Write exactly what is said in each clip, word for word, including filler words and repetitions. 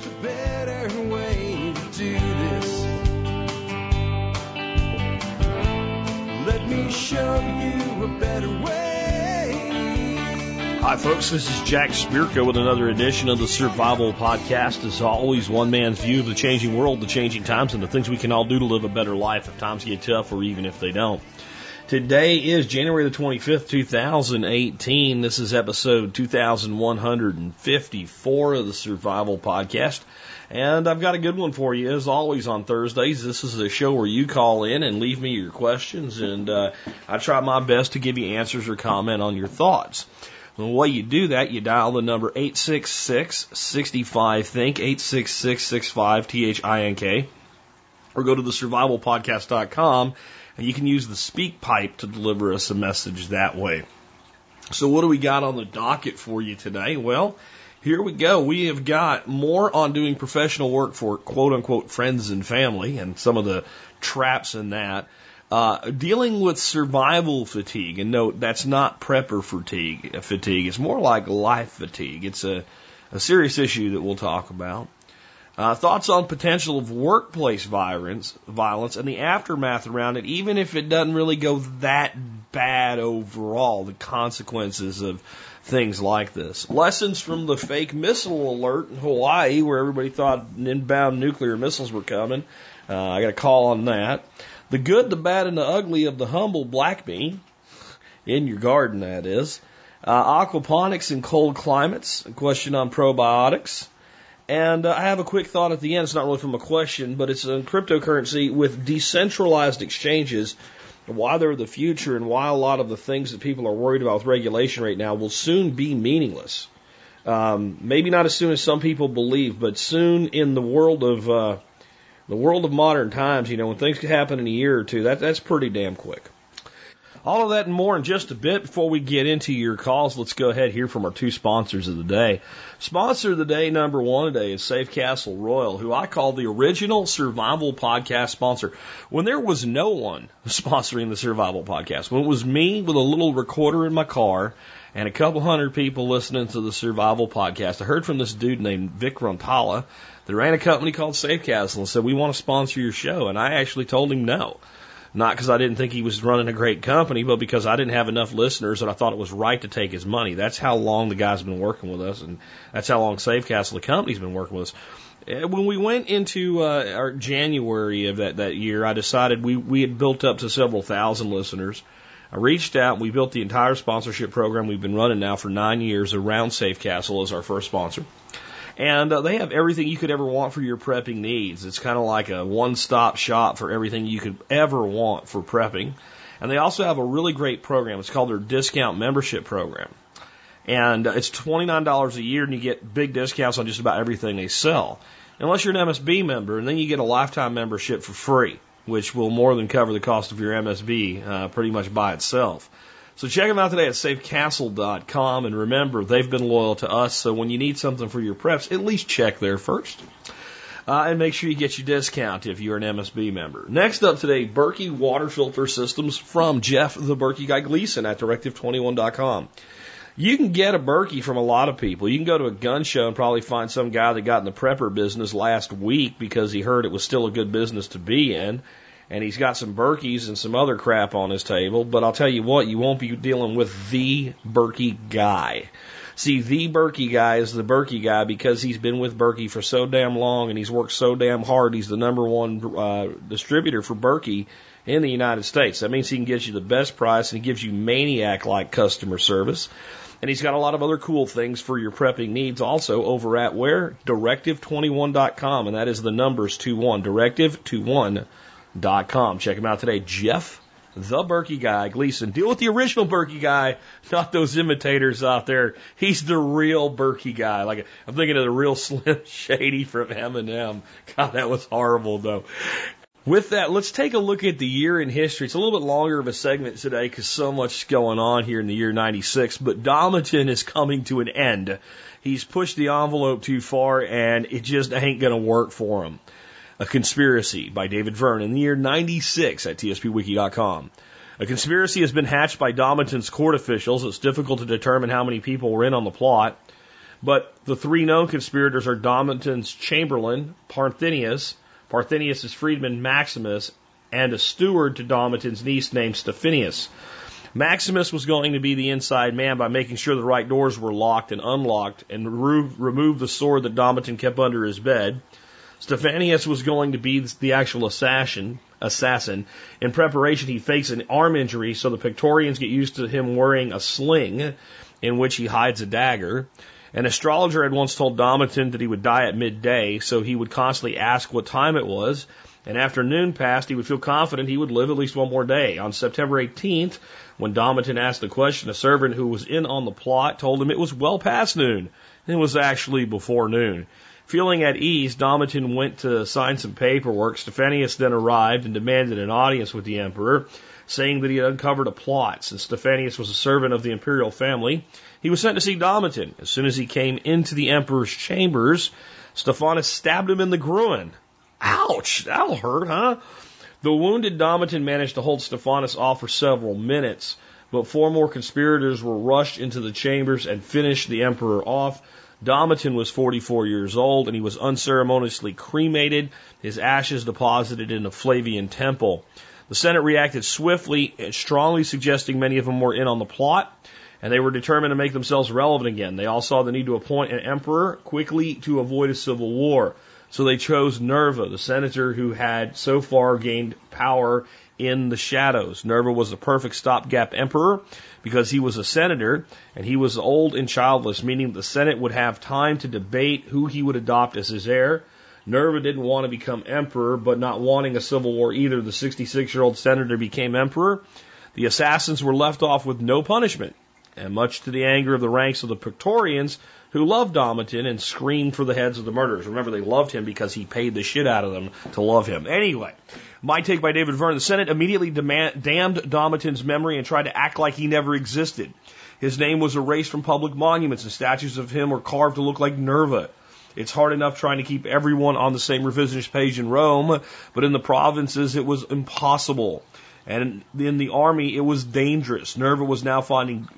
a better way to do this. Let me show you a better way. Hi, folks. This is Jack Spirko with another edition of the Survival Podcast. As always, one man's view of the changing world, the changing times, and the things we can all do to live a better life if times get tough or even if they don't. Today is January the twenty-fifth, two thousand eighteen. This is episode two thousand one hundred fifty-four of the Survival Podcast. And I've got a good one for you, as always, on Thursdays. This is a show where you call in and leave me your questions, and uh, I try my best to give you answers or comment on your thoughts. The way you do that, you dial the number eight six six, six five, think, eight six six, six five, T H I N K, or go to the survival podcast dot com, and you can use the speak pipe to deliver us a message that way. So what do we got on the docket for you today? Well, here we go. We have got more on doing professional work for quote-unquote friends and family and some of the traps in that. Uh, dealing with survival fatigue. And note, that's not prepper fatigue. fatigue. It's more like life fatigue. It's a, a serious issue that we'll talk about. Uh, thoughts on potential of workplace violence, violence and the aftermath around it, even if it doesn't really go that bad overall, the consequences of things like this. Lessons from the fake missile alert in Hawaii, where everybody thought inbound nuclear missiles were coming. Uh, I got a call on that. The good, the bad, and the ugly of the humble black bean, in your garden, that is. Uh, aquaponics in cold climates, a question on probiotics. And uh, I have a quick thought at the end. It's not really from a question, but it's on cryptocurrency with decentralized exchanges, why they're the future and why a lot of the things that people are worried about with regulation right now will soon be meaningless. Um, maybe not as soon as some people believe, but soon in the world of uh, the world of modern times, you know, when things could happen in a year or two, that that's pretty damn quick. All of that and more in just a bit. Before we get into your calls, let's go ahead and hear from our two sponsors of the day. Sponsor of the day, number one today, is Safe Castle Royal, who I call the original Survival Podcast sponsor. When there was no one sponsoring the Survival Podcast, when it was me with a little recorder in my car and a couple hundred people listening to the Survival Podcast, I heard from this dude named Vic Rontala that ran a company called Safe Castle and said, we want to sponsor your show. And I actually told him no. Not because I didn't think he was running a great company, but because I didn't have enough listeners and I thought it was right to take his money. That's how long the guy's been working with us, and that's how long Safe Castle, the company's been working with us. When we went into uh, our January of that, that year, I decided we, we had built up to several thousand listeners. I reached out and we built the entire sponsorship program we've been running now for nine years around Safe Castle as our first sponsor. And uh, they have everything you could ever want for your prepping needs. It's kind of like a one-stop shop for everything you could ever want for prepping. And they also have a really great program. It's called their discount membership program. And uh, it's twenty-nine dollars a year, and you get big discounts on just about everything they sell. Unless you're an M S B member, and then you get a lifetime membership for free, which will more than cover the cost of your M S B uh, pretty much by itself. So check them out today at safe castle dot com, and remember, they've been loyal to us, so when you need something for your preps, at least check there first. Uh, and make sure you get your discount if you're an M S B member. Next up today, Berkey Water Filter Systems from Jeff the Berkey Guy Gleason at directive twenty-one dot com. You can get a Berkey from a lot of people. You can go to a gun show and probably find some guy that got in the prepper business last week because he heard it was still a good business to be in. And he's got some Berkeys and some other crap on his table. But I'll tell you what, you won't be dealing with the Berkey guy. See, the Berkey guy is the Berkey guy because he's been with Berkey for so damn long and he's worked so damn hard. He's the number one uh, distributor for Berkey in the United States. That means he can get you the best price and he gives you maniac-like customer service. And he's got a lot of other cool things for your prepping needs also over at where? directive twenty-one dot com. And that is the numbers two one, directive twenty-one dot com. Check him out today. Jeff, the Berkey Guy Gleason. Deal with the original Berkey guy, not those imitators out there. He's the real Berkey guy. Like, I'm thinking of the real Slim Shady from Eminem. God, that was horrible, though. With that, let's take a look at the year in history. It's a little bit longer of a segment today because so much is going on here in the year ninety-six, but Domiton is coming to an end. He's pushed the envelope too far, and it just ain't going to work for him. A Conspiracy by David Verne in the year ninety-six at T S P wiki dot com. A conspiracy has been hatched by Domiton's court officials. It's difficult to determine how many people were in on the plot. But the three known conspirators are Domiton's chamberlain, Parthenius, Parthenius' freedman, Maximus, and a steward to Domiton's niece named Stephanius. Maximus was going to be the inside man by making sure the right doors were locked and unlocked and remove, remove the sword that Domiton kept under his bed. Stephanius was going to be the actual assassin. Assassin. In preparation, he fakes an arm injury so the Praetorians get used to him wearing a sling in which he hides a dagger. An astrologer had once told Domiton that he would die at midday, so he would constantly ask what time it was, and after noon passed, he would feel confident he would live at least one more day. On September eighteenth, when Domiton asked the question, a servant who was in on the plot told him it was well past noon. It was actually before noon. Feeling at ease, Domiton went to sign some paperwork. Stephanius then arrived and demanded an audience with the emperor, saying that he had uncovered a plot. Since Stephanius was a servant of the imperial family, he was sent to see Domiton. As soon as he came into the emperor's chambers, Stephanus stabbed him in the groin. Ouch! That'll hurt, huh? The wounded Domiton managed to hold Stephanus off for several minutes, but four more conspirators were rushed into the chambers and finished the emperor off. Domiton was forty-four years old, and he was unceremoniously cremated, his ashes deposited in the Flavian temple. The Senate reacted swiftly and strongly suggesting many of them were in on the plot, and they were determined to make themselves relevant again. They all saw the need to appoint an emperor quickly to avoid a civil war. So they chose Nerva, the senator who had so far gained power in the shadows. Nerva was the perfect stopgap emperor because he was a senator and he was old and childless, meaning the Senate would have time to debate who he would adopt as his heir. Nerva didn't want to become emperor, but not wanting a civil war either, the sixty-six-year-old senator became emperor. The assassins were left off with no punishment, and much to the anger of the ranks of the Praetorians, who loved Domiton and screamed for the heads of the murderers. Remember, they loved him because he paid the shit out of them to love him. Anyway, my take by David Vernon. The Senate immediately demand, damned Domiton's memory and tried to act like he never existed. His name was erased from public monuments, and statues of him were carved to look like Nerva. It's hard enough trying to keep everyone on the same revisionist page in Rome, but in the provinces it was impossible. And in the army, it was dangerous. Nerva was now finding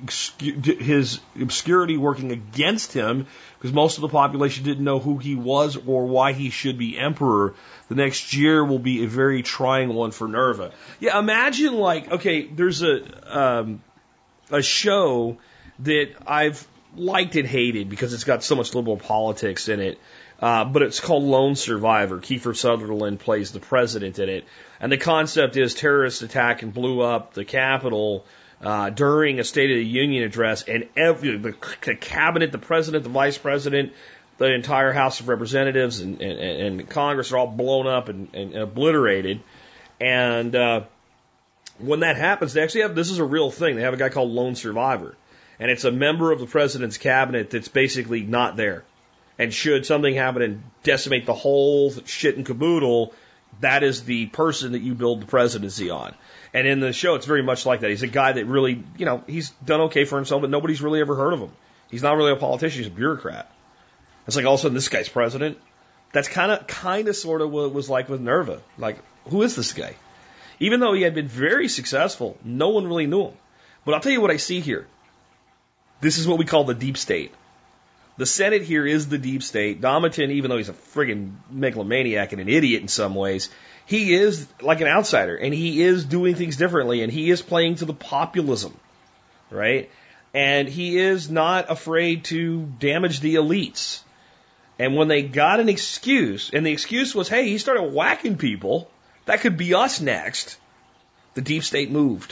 his obscurity working against him because most of the population didn't know who he was or why he should be emperor. The next year will be a very trying one for Nerva. Yeah, imagine like, okay, there's a um, a show that I've liked and hated because it's got so much liberal politics in it. Uh, but it's called Lone Survivor. Kiefer Sutherland plays the president in it. And the concept is terrorists attacked and blew up the Capitol uh, during a State of the Union address, and every, the, the cabinet, the president, the vice president, the entire House of Representatives and, and, and Congress are all blown up and, and obliterated. And uh, when that happens, they actually have, this is a real thing, they have a guy called Lone Survivor. And it's a member of the president's cabinet that's basically not there. And should something happen and decimate the whole shit and caboodle, that is the person that you build the presidency on. And in the show, it's very much like that. He's a guy that really, you know, he's done okay for himself, but nobody's really ever heard of him. He's not really a politician. He's a bureaucrat. It's like all of a sudden this guy's president. That's kind of, kind of sort of what it was like with Nerva. Like, who is this guy? Even though he had been very successful, no one really knew him. But I'll tell you what I see here. This is what we call the deep state. The Senate here is the deep state. Domiton, even though he's a friggin' megalomaniac and an idiot in some ways, he is like an outsider, and he is doing things differently, and he is playing to the populism, right? And he is not afraid to damage the elites. And when they got an excuse, and the excuse was, hey, he started whacking people, that could be us next, the deep state moved.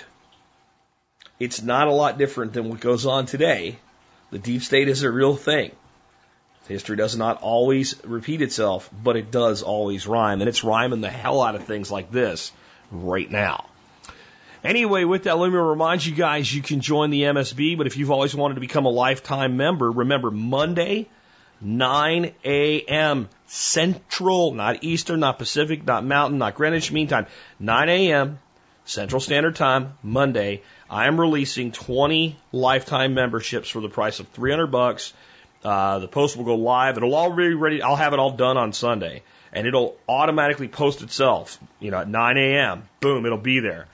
It's not a lot different than what goes on today. The deep state is a real thing. History does not always repeat itself, but it does always rhyme. And it's rhyming the hell out of things like this right now. Anyway, with that, let me remind you guys you can join the M S B, but if you've always wanted to become a lifetime member, remember Monday, nine a.m. Central, not Eastern, not Pacific, not Mountain, not Greenwich Mean Time, nine a.m. Central Standard Time, Monday, I am releasing twenty lifetime memberships for the price of three hundred bucks. Uh, the post will go live. It'll all be ready. I'll have it all done on Sunday, and it'll automatically post itself. You know, at nine a.m. Boom, it'll be there.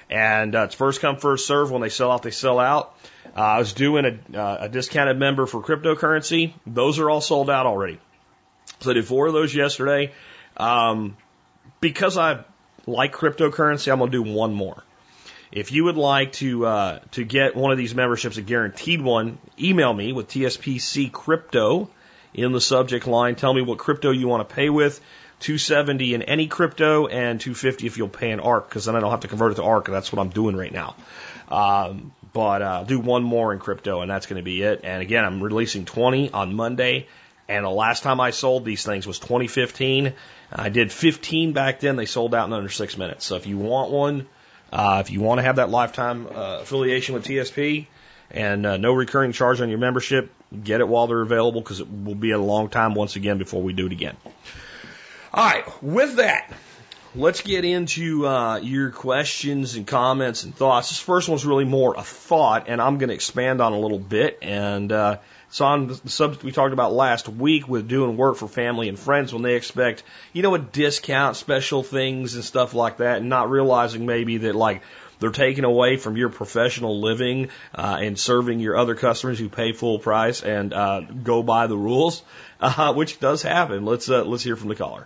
And uh, it's first come, first serve. When they sell out, they sell out. Uh, I was doing a, uh, a discounted member for cryptocurrency. Those are all sold out already. So I did four of those yesterday. Um, because I like cryptocurrency, I'm going to do one more. If you would like to uh, to get one of these memberships, a guaranteed one, email me with T S P C Crypto in the subject line. Tell me what crypto you want to pay with. two seventy in any crypto and two fifty if you'll pay an ARC, because then I don't have to convert it to ARC, and that's what I'm doing right now. Um, but uh, I'll do one more in crypto, and that's going to be it. And again, I'm releasing twenty on Monday. And the last time I sold these things was twenty fifteen. I did fifteen back then. They sold out in under six minutes. So if you want one, uh, if you want to have that lifetime uh, affiliation with T S P and uh, no recurring charge on your membership, get it while they're available, because it will be a long time once again before we do it again. All right, with that, let's get into uh, your questions and comments and thoughts. This first one's really more a thought, and I'm going to expand on a little bit. And uh, it's on the subject we talked about last week with doing work for family and friends when they expect, you know, a discount, special things and stuff like that, and not realizing maybe that, like, they're taking away from your professional living uh, and serving your other customers who pay full price and uh, go by the rules, uh, which does happen. Let's uh, let's hear from the caller.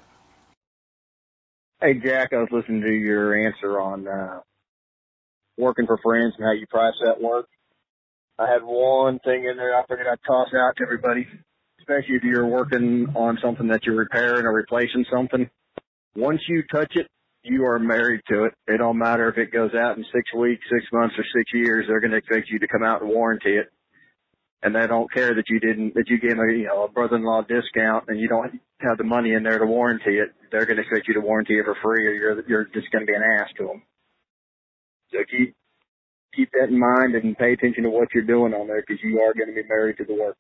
Hey, Jack, I was listening to your answer on uh, working for friends and how you price that work. I had one thing in there I figured I'd toss out to everybody, especially if you're working on something that you're repairing or replacing something. Once you touch it, you are married to it. It don't matter if it goes out in six weeks, six months, or six years. They're going to expect you to come out and warranty it. And they don't care that you didn't, that you gave a, you know, a brother-in-law discount and you don't have the money in there to warranty it. They're going to expect you to warranty it for free, or you're, you're just going to be an ass to them. So keep, keep that in mind and pay attention to what you're doing on there, because you are going to be married to the work.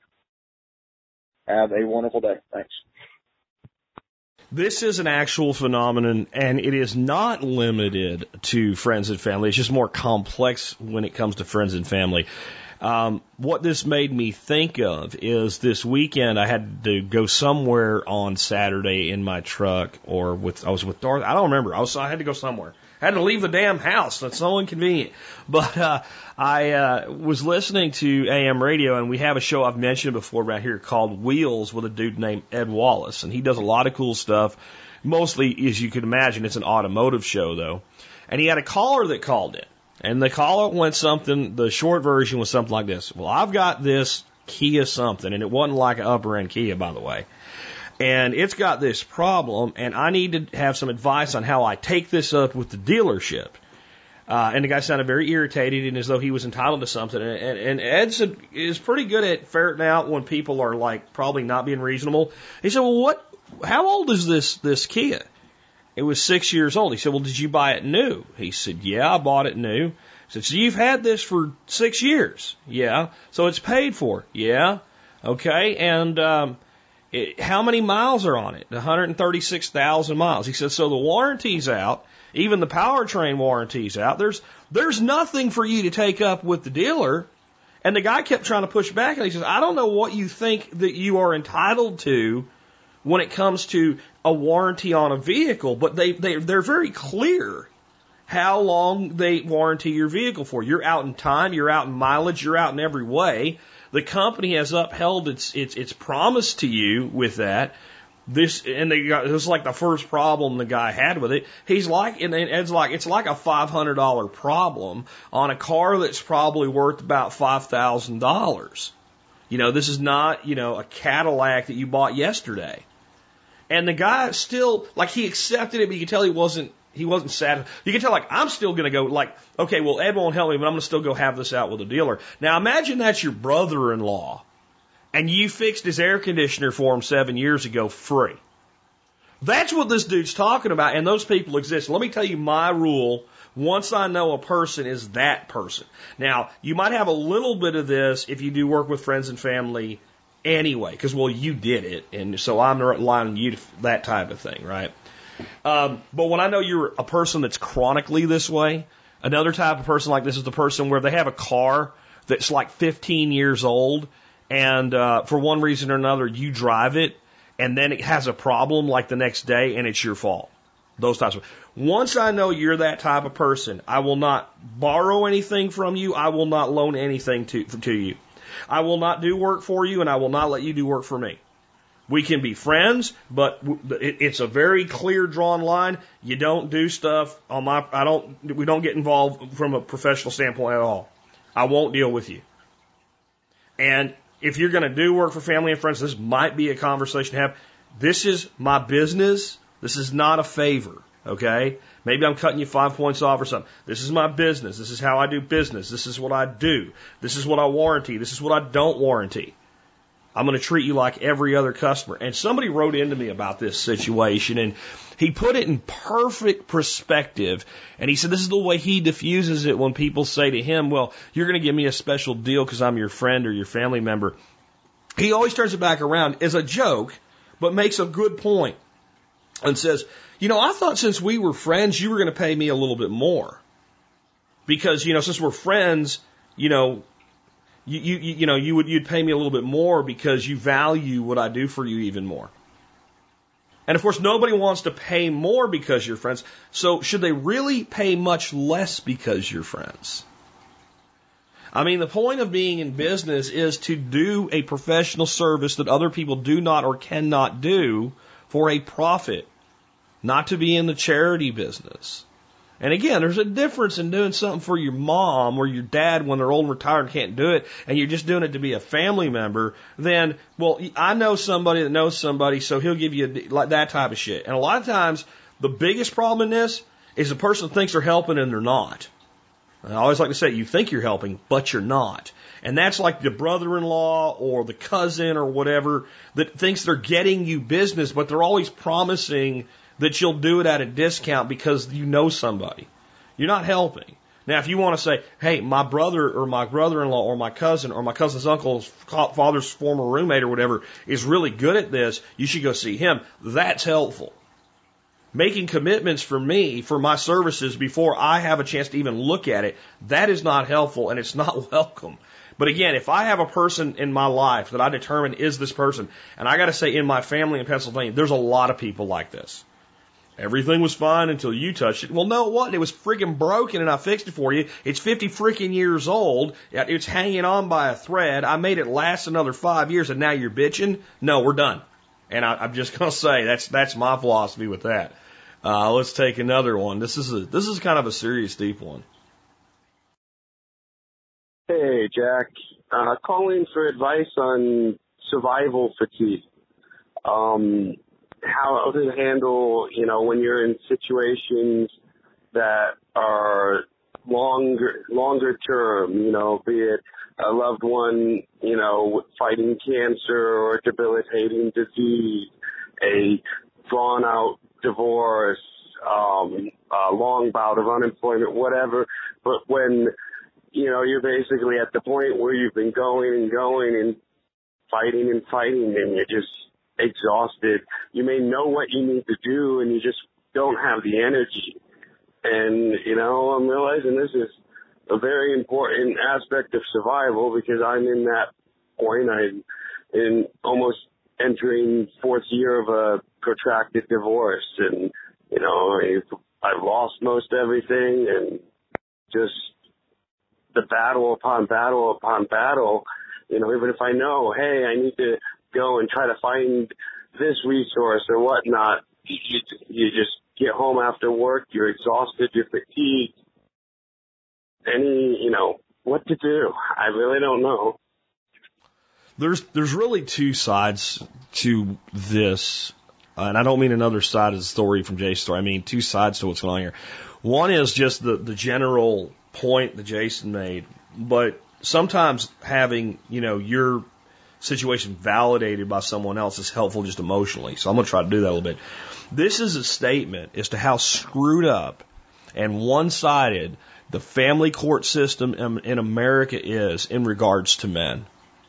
Have a wonderful day. Thanks. This is an actual phenomenon, and it is not limited to friends and family. It's just more complex when it comes to friends and family. Um, what this made me think of is this weekend I had to go somewhere on Saturday in my truck, or with I was with Dorothy. I don't remember. I was I had to go somewhere. I had to leave the damn house. That's so inconvenient. But uh, I uh, was listening to A M radio, and we have a show I've mentioned before right here called Wheels with a dude named Ed Wallace, and he does a lot of cool stuff. Mostly, as you can imagine, it's an automotive show though. And he had a caller that called in. And the caller went something, the short version was something like this. Well, I've got this Kia something, and it wasn't like an upper end Kia, by the way. And it's got this problem, and I need to have some advice on how I take this up with the dealership. Uh, and the guy sounded very irritated and as though he was entitled to something. And, and, and Ed said, is pretty good at ferreting out when people are like probably not being reasonable. He said, well, what, how old is this, this Kia? It was six years old. He said, well, did you buy it new? He said, yeah, I bought it new. He said, so you've had this for six years? Yeah. So it's paid for? Yeah. Okay. And um, it, how many miles are on it? one hundred thirty-six thousand miles. He said, so the warranty's out. Even the powertrain warranty's out. There's, there's nothing for you to take up with the dealer. And the guy kept trying to push back, and he says, I don't know what you think that you are entitled to when it comes to a warranty on a vehicle, but they, they, they're very clear how long they warranty your vehicle for. You're out in time, you're out in mileage, you're out in every way. The company has upheld its, its, its promise to you with that. This, and they got, this is like the first problem the guy had with it. He's like, and Ed's like, it's like a five hundred dollars problem on a car that's probably worth about five thousand dollars. You know, this is not, you know, a Cadillac that you bought yesterday. And the guy still, like, he accepted it, but you could tell he wasn't, he wasn't sad. You can tell, like, I'm still going to go, like, okay, well, Ed won't help me, but I'm going to still go have this out with a dealer. Now, imagine that's your brother-in-law, and you fixed his air conditioner for him seven years ago free. That's what this dude's talking about, and those people exist. Let me tell you my rule. Once I know a person is that person. Now, you might have a little bit of this if you do work with friends and family anyway, because, well, you did it, and so I'm relying on you to that type of thing, right? Um, but when I know you're a person that's chronically this way, another type of person like this is the person where they have a car that's like fifteen years old, and uh, for one reason or another, you drive it, and then it has a problem like the next day, and it's your fault. those types of. Once I know you're that type of person, I will not borrow anything from you. I will not loan anything to, to you. I will not do work for you, and I will not let you do work for me. We can be friends, but it's a very clear drawn line. You don't do stuff on my, I don't, we don't get involved from a professional standpoint at all. I won't deal with you. And if you're going to do work for family and friends, this might be a conversation to have. This is my business. This is not a favor. Okay? Maybe I'm cutting you five points off or something. This is my business. This is how I do business. This is what I do. This is what I warranty. This is what I don't warranty. I'm going to treat you like every other customer. And somebody wrote into me about this situation, and he put it in perfect perspective. And he said this is the way he diffuses it when people say to him, well, you're going to give me a special deal because I'm your friend or your family member. He always turns it back around as a joke, but makes a good point and says, you know, I thought since we were friends, you were going to pay me a little bit more. Because, you know, since we're friends, you know, You, you, you know, you would, you'd pay me a little bit more because you value what I do for you even more. And of course, nobody wants to pay more because you're friends. So should they really pay much less because you're friends? I mean, the point of being in business is to do a professional service that other people do not or cannot do for a profit, not to be in the charity business. And again, there's a difference in doing something for your mom or your dad when they're old and retired and can't do it, and you're just doing it to be a family member, then, well, I know somebody that knows somebody, so he'll give you a, like that type of shit. And a lot of times, the biggest problem in this is the person thinks they're helping and they're not. I always like to say, you think you're helping, but you're not. And that's like the brother-in-law or the cousin or whatever that thinks they're getting you business, but they're always promising that you'll do it at a discount because you know somebody. You're not helping. Now, if you want to say, hey, my brother or my brother-in-law or my cousin or my cousin's uncle's father's former roommate or whatever is really good at this, you should go see him. That's helpful. Making commitments for me, for my services, before I have a chance to even look at it, that is not helpful and it's not welcome. But again, if I have a person in my life that I determine is this person, and I got to say in my family in Pennsylvania, there's a lot of people like this. Everything was fine until you touched it. Well, no, it wasn't. It was freaking broken and I fixed it for you. It's fifty freaking years old. It's hanging on by a thread. I made it last another five years and now you're bitching? No, we're done. And I, I'm just going to say that's that's my philosophy with that. Uh, let's take another one. This is a, this is kind of a serious, deep one. Hey, Jack. Uh, calling for advice on survival fatigue. Um... How to handle, you know, when you're in situations that are longer, longer term, you know, be it a loved one, you know, fighting cancer or debilitating disease, a drawn out divorce, um, a long bout of unemployment, whatever. But when, you know, you're basically at the point where you've been going and going and fighting and fighting and you're just exhausted. You may know what you need to do and you just don't have the energy. And, you know, I'm realizing this is a very important aspect of survival because I'm in that point. I'm in almost entering fourth year of a protracted divorce. And, you know, I've, I've lost most everything and just the battle upon battle upon battle. You know, even if I know, hey, I need to go and try to find this resource or whatnot, you, you just get home after work, you're exhausted, you're fatigued. Any, you know, what to do? I really don't know. There's there's really two sides to this, uh, and I don't mean another side of the story from Jason's story. I mean two sides to what's going on here. One is just the, the general point that Jason made, but sometimes having, you know, your situation validated by someone else is helpful just emotionally. So I'm going to try to do that a little bit. This is a statement as to how screwed up and one-sided the family court system in, in America is in regards to men.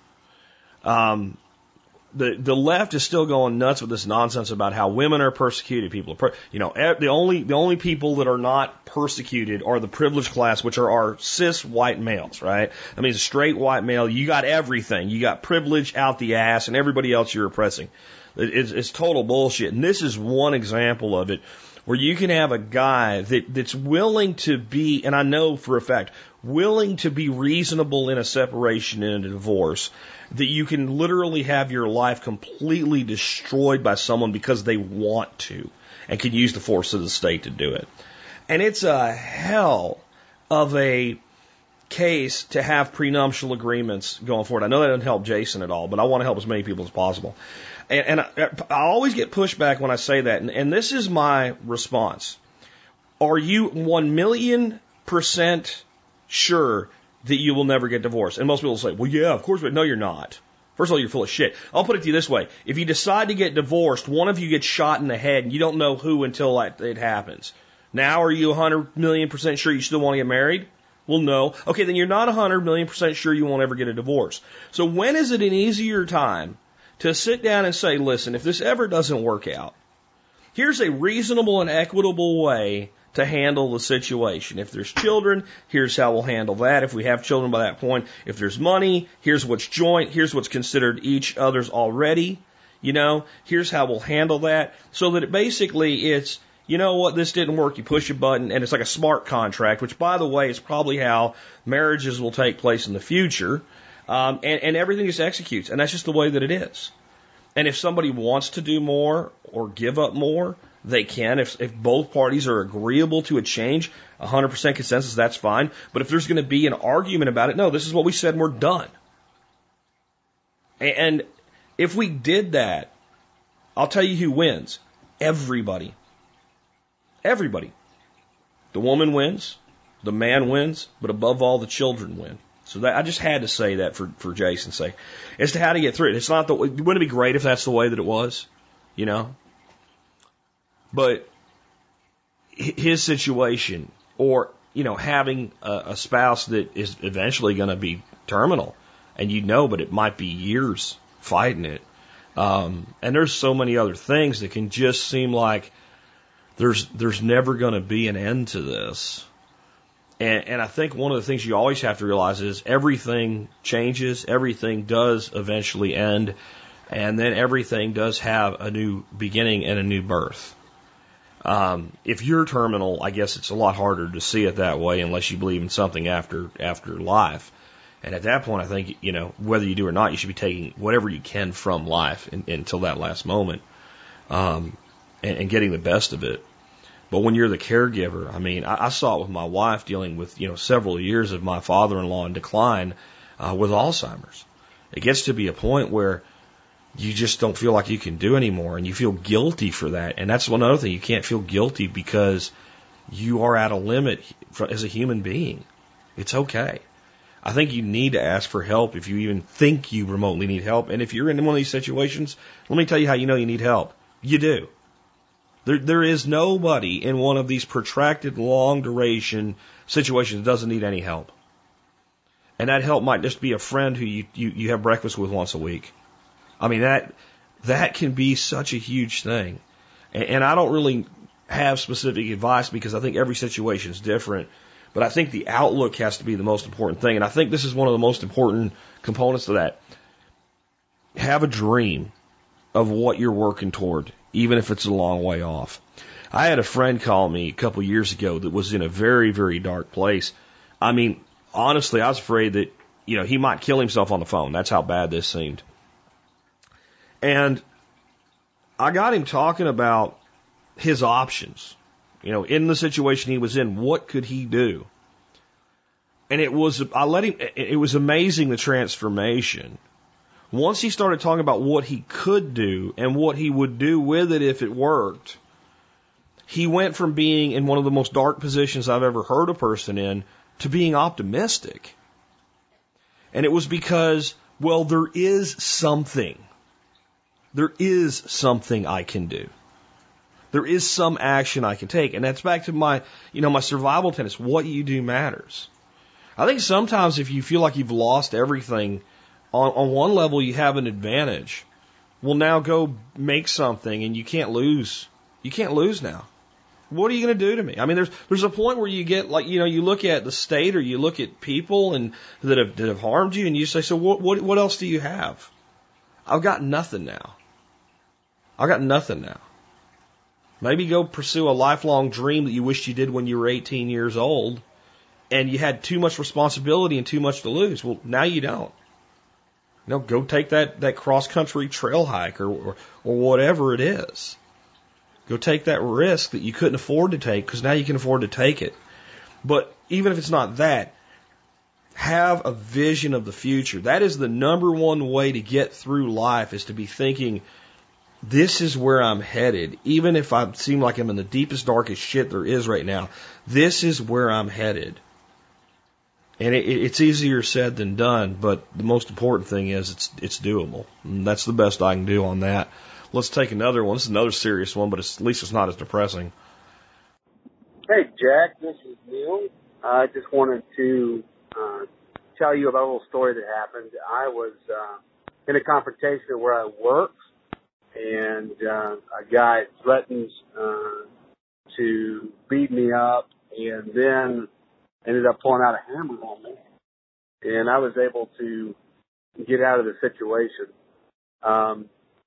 Um, the the left is still going nuts with this nonsense about how women are persecuted. People are, per, you know, the only the only people that are not persecuted are the privileged class, which are our cis white males, right? I mean, a straight white male, you got everything, you got privilege out the ass, and everybody else you're oppressing. It, it's, it's total bullshit, and this is one example of it, where you can have a guy that, that's willing to be, and I know for a fact, willing to be reasonable in a separation and a divorce, that you can literally have your life completely destroyed by someone because they want to and can use the force of the state to do it. And it's a hell of a case to have prenuptial agreements going forward. I know that doesn't help Jason at all, but I want to help as many people as possible. And, and I, I always get pushback when I say that, and, and this is my response. Are you one million percent sure that you will never get divorced? And most people say, well, yeah, of course, but no, you're not. First of all, you're full of shit. I'll put it to you this way. If you decide to get divorced, one of you gets shot in the head, and you don't know who until it happens. Now, are you one hundred million percent sure you still want to get married? Well, no. Okay, then you're not one hundred million percent sure you won't ever get a divorce. So when is it an easier time to sit down and say, listen, if this ever doesn't work out, here's a reasonable and equitable way to handle the situation. If there's children, here's how we'll handle that. If we have children by that point, if there's money, here's what's joint, here's what's considered each other's already. You know, here's how we'll handle that. So that it basically it's, you know what, this didn't work, you push a button, and it's like a smart contract, which, by the way, is probably how marriages will take place in the future, um, and, and everything just executes, and that's just the way that it is. And if somebody wants to do more or give up more, they can. If, if both parties are agreeable to a change, one hundred percent consensus, that's fine. But if there's going to be an argument about it, no, this is what we said and we're done. And if we did that, I'll tell you who wins. Everybody. Everybody. The woman wins, the man wins, but above all, the children win. So that, I just had to say that for, for Jason's sake. As to how to get through it. It's not the, wouldn't it be great if that's the way that it was? You know? But his situation, or, you know, having a, a spouse that is eventually going to be terminal, and you know, but it might be years fighting it. Um, and there's so many other things that can just seem like there's there's never going to be an end to this. And, and I think one of the things you always have to realize is everything changes, everything does eventually end, and then everything does have a new beginning and a new birth. Um, if you're terminal, I guess it's a lot harder to see it that way unless you believe in something after after life. And at that point, I think, you know, whether you do or not, you should be taking whatever you can from life in, until that last moment, um, and, and getting the best of it. But when you're the caregiver, I mean, I, I saw it with my wife dealing with, you know, several years of my father-in-law in decline uh, with Alzheimer's. It gets to be a point where you just don't feel like you can do anymore, and you feel guilty for that. And that's one other thing. You can't feel guilty because you are at a limit for, as a human being. It's okay. I think you need to ask for help if you even think you remotely need help. And if you're in one of these situations, let me tell you how you know you need help. You do. There, there is nobody in one of these protracted, long-duration situations that doesn't need any help. And that help might just be a friend who you, you, you have breakfast with once a week. I mean, that that can be such a huge thing. And, and I don't really have specific advice because I think every situation is different. But I think the outlook has to be the most important thing. And I think this is one of the most important components of that. Have a dream of what you're working toward, even if it's a long way off. I had a friend call me a couple years ago that was in a very, very dark place. I mean, honestly, I was afraid that, you know, he might kill himself on the phone. That's how bad this seemed. And I got him talking about his options. You know, in the situation he was in, what could he do? And it was, I let him, it was amazing the transformation. Once he started talking about what he could do and what he would do with it if it worked, he went from being in one of the most dark positions I've ever heard a person in to being optimistic. And it was because, well, there is something. There is something I can do. There is some action I can take. And that's back to my, you know, my survival tenets. What you do matters. I think sometimes if you feel like you've lost everything, on, on one level you have an advantage. Well, now go make something and you can't lose. You can't lose now. What are you going to do to me? I mean, there's there's a point where you get like, you know, you look at the state or you look at people and that have that have harmed you and you say, so what what what else do you have? I've got nothing now. I've got nothing now. Maybe go pursue a lifelong dream that you wished you did when you were eighteen years old and you had too much responsibility and too much to lose. Well, now you don't. You know, go take that, that cross-country trail hike or, or, or whatever it is. Go take that risk that you couldn't afford to take because now you can afford to take it. But even if it's not that, have a vision of the future. That is the number one way to get through life, is to be thinking, this is where I'm headed. Even if I seem like I'm in the deepest, darkest shit there is right now, this is where I'm headed. And it, it's easier said than done, but the most important thing is it's it's doable. And that's the best I can do on that. Let's take another one. This is another serious one, but it's, at least it's not as depressing. Hey, Jack, this is Neil. I just wanted to uh, tell you about a little story that happened. I was uh, in a confrontation where I worked, and uh, a guy threatened uh, to beat me up, and then ended up pulling out a hammer on me, and I was able to get out of the situation. Um,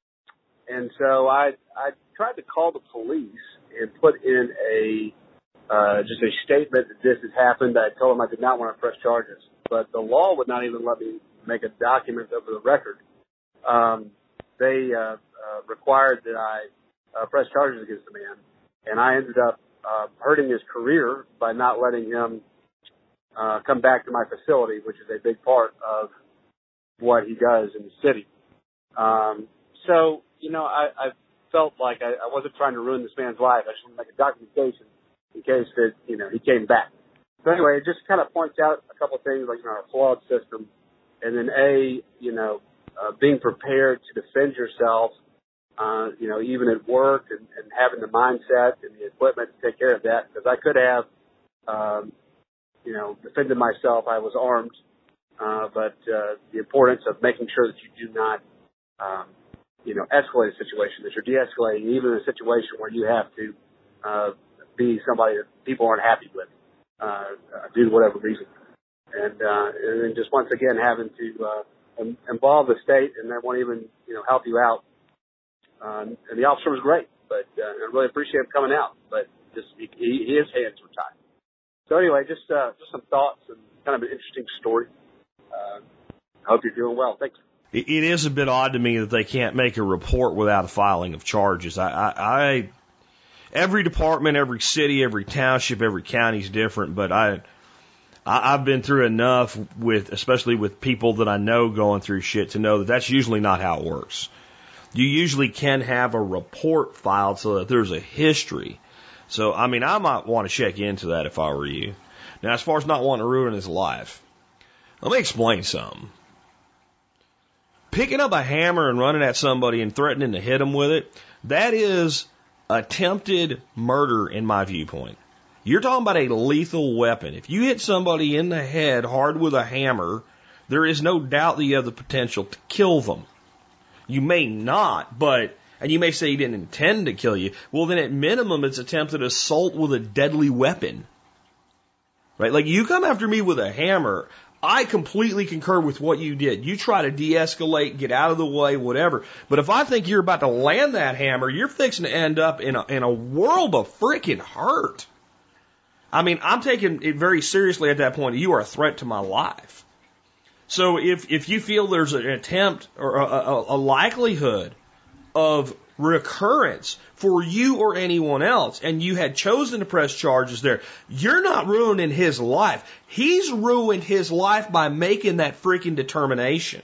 and so I I tried to call the police and put in a uh, just a statement that this has happened. I told them I did not want to press charges, but the law would not even let me make a document of the record. Um, they uh, uh, required that I uh, press charges against the man, and I ended up uh, hurting his career by not letting him Uh, come back to my facility, which is a big part of what he does in the city. Um, so, you know, I, I felt like I, I wasn't trying to ruin this man's life. I just wanted to make a documentation in case that, you know, he came back. So anyway, it just kind of points out a couple of things, like, you know, our flawed system. And then A, you know, uh, being prepared to defend yourself, uh, you know, even at work, and, and having the mindset and the equipment to take care of that. Because I could have, um, you know, defended myself. I was armed, uh, but uh, the importance of making sure that you do not, um, you know, escalate a situation, that you're de-escalating even in a situation where you have to uh, be somebody that people aren't happy with, uh, uh, due to whatever reason. And, uh, and then just once again having to uh, involve the state, and they won't even, you know, help you out. Um, and the officer was great, but uh, I really appreciate him coming out, but just he, he, his hands were tied. So anyway, just uh, just some thoughts and kind of an interesting story. Uh, I hope you're doing well. Thanks. It is a bit odd to me that they can't make a report without a filing of charges. I, I, I every department, every city, every township, every county is different, but I, I I've been through enough with, especially with people that I know going through shit, to know that that's usually not how it works. You usually can have a report filed so that there's a history. So, I mean, I might want to check into that if I were you. Now, as far as not wanting to ruin his life, let me explain something. Picking up a hammer and running at somebody and threatening to hit them with it, that is attempted murder in my viewpoint. You're talking about a lethal weapon. If you hit somebody in the head hard with a hammer, there is no doubt that you have the potential to kill them. You may not, but... And you may say he didn't intend to kill you. Well, then at minimum, it's attempted assault with a deadly weapon. Right? Like, you come after me with a hammer, I completely concur with what you did. You try to de-escalate, get out of the way, whatever. But if I think you're about to land that hammer, you're fixing to end up in a, in a world of freaking hurt. I mean, I'm taking it very seriously at that point. You are a threat to my life. So if, if you feel there's an attempt or a, a, a likelihood of recurrence for you or anyone else, and you had chosen to press charges there, you're not ruining his life. He's ruined his life by making that freaking determination.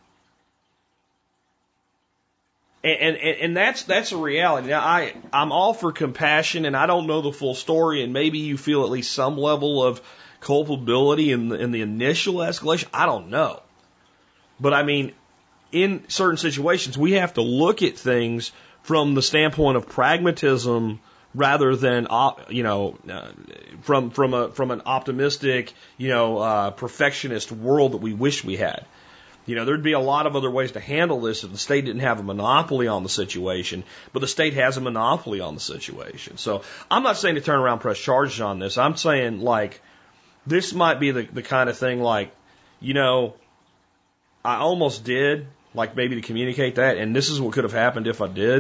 And, and, and that's, that's a reality. Now, I, I'm all for compassion, and I don't know the full story, and maybe you feel at least some level of culpability in the, in the initial escalation. I don't know. But I mean, in certain situations, we have to look at things from the standpoint of pragmatism rather than, you know, uh, from from a from an optimistic, you know, uh, perfectionist world that we wish we had. You know, there'd be a lot of other ways to handle this if the state didn't have a monopoly on the situation, but the state has a monopoly on the situation. So I'm not saying to turn around and press charges on this. I'm saying, like, this might be the, the kind of thing, like, you know, I almost did, like maybe to communicate that, and this is what could have happened if I did,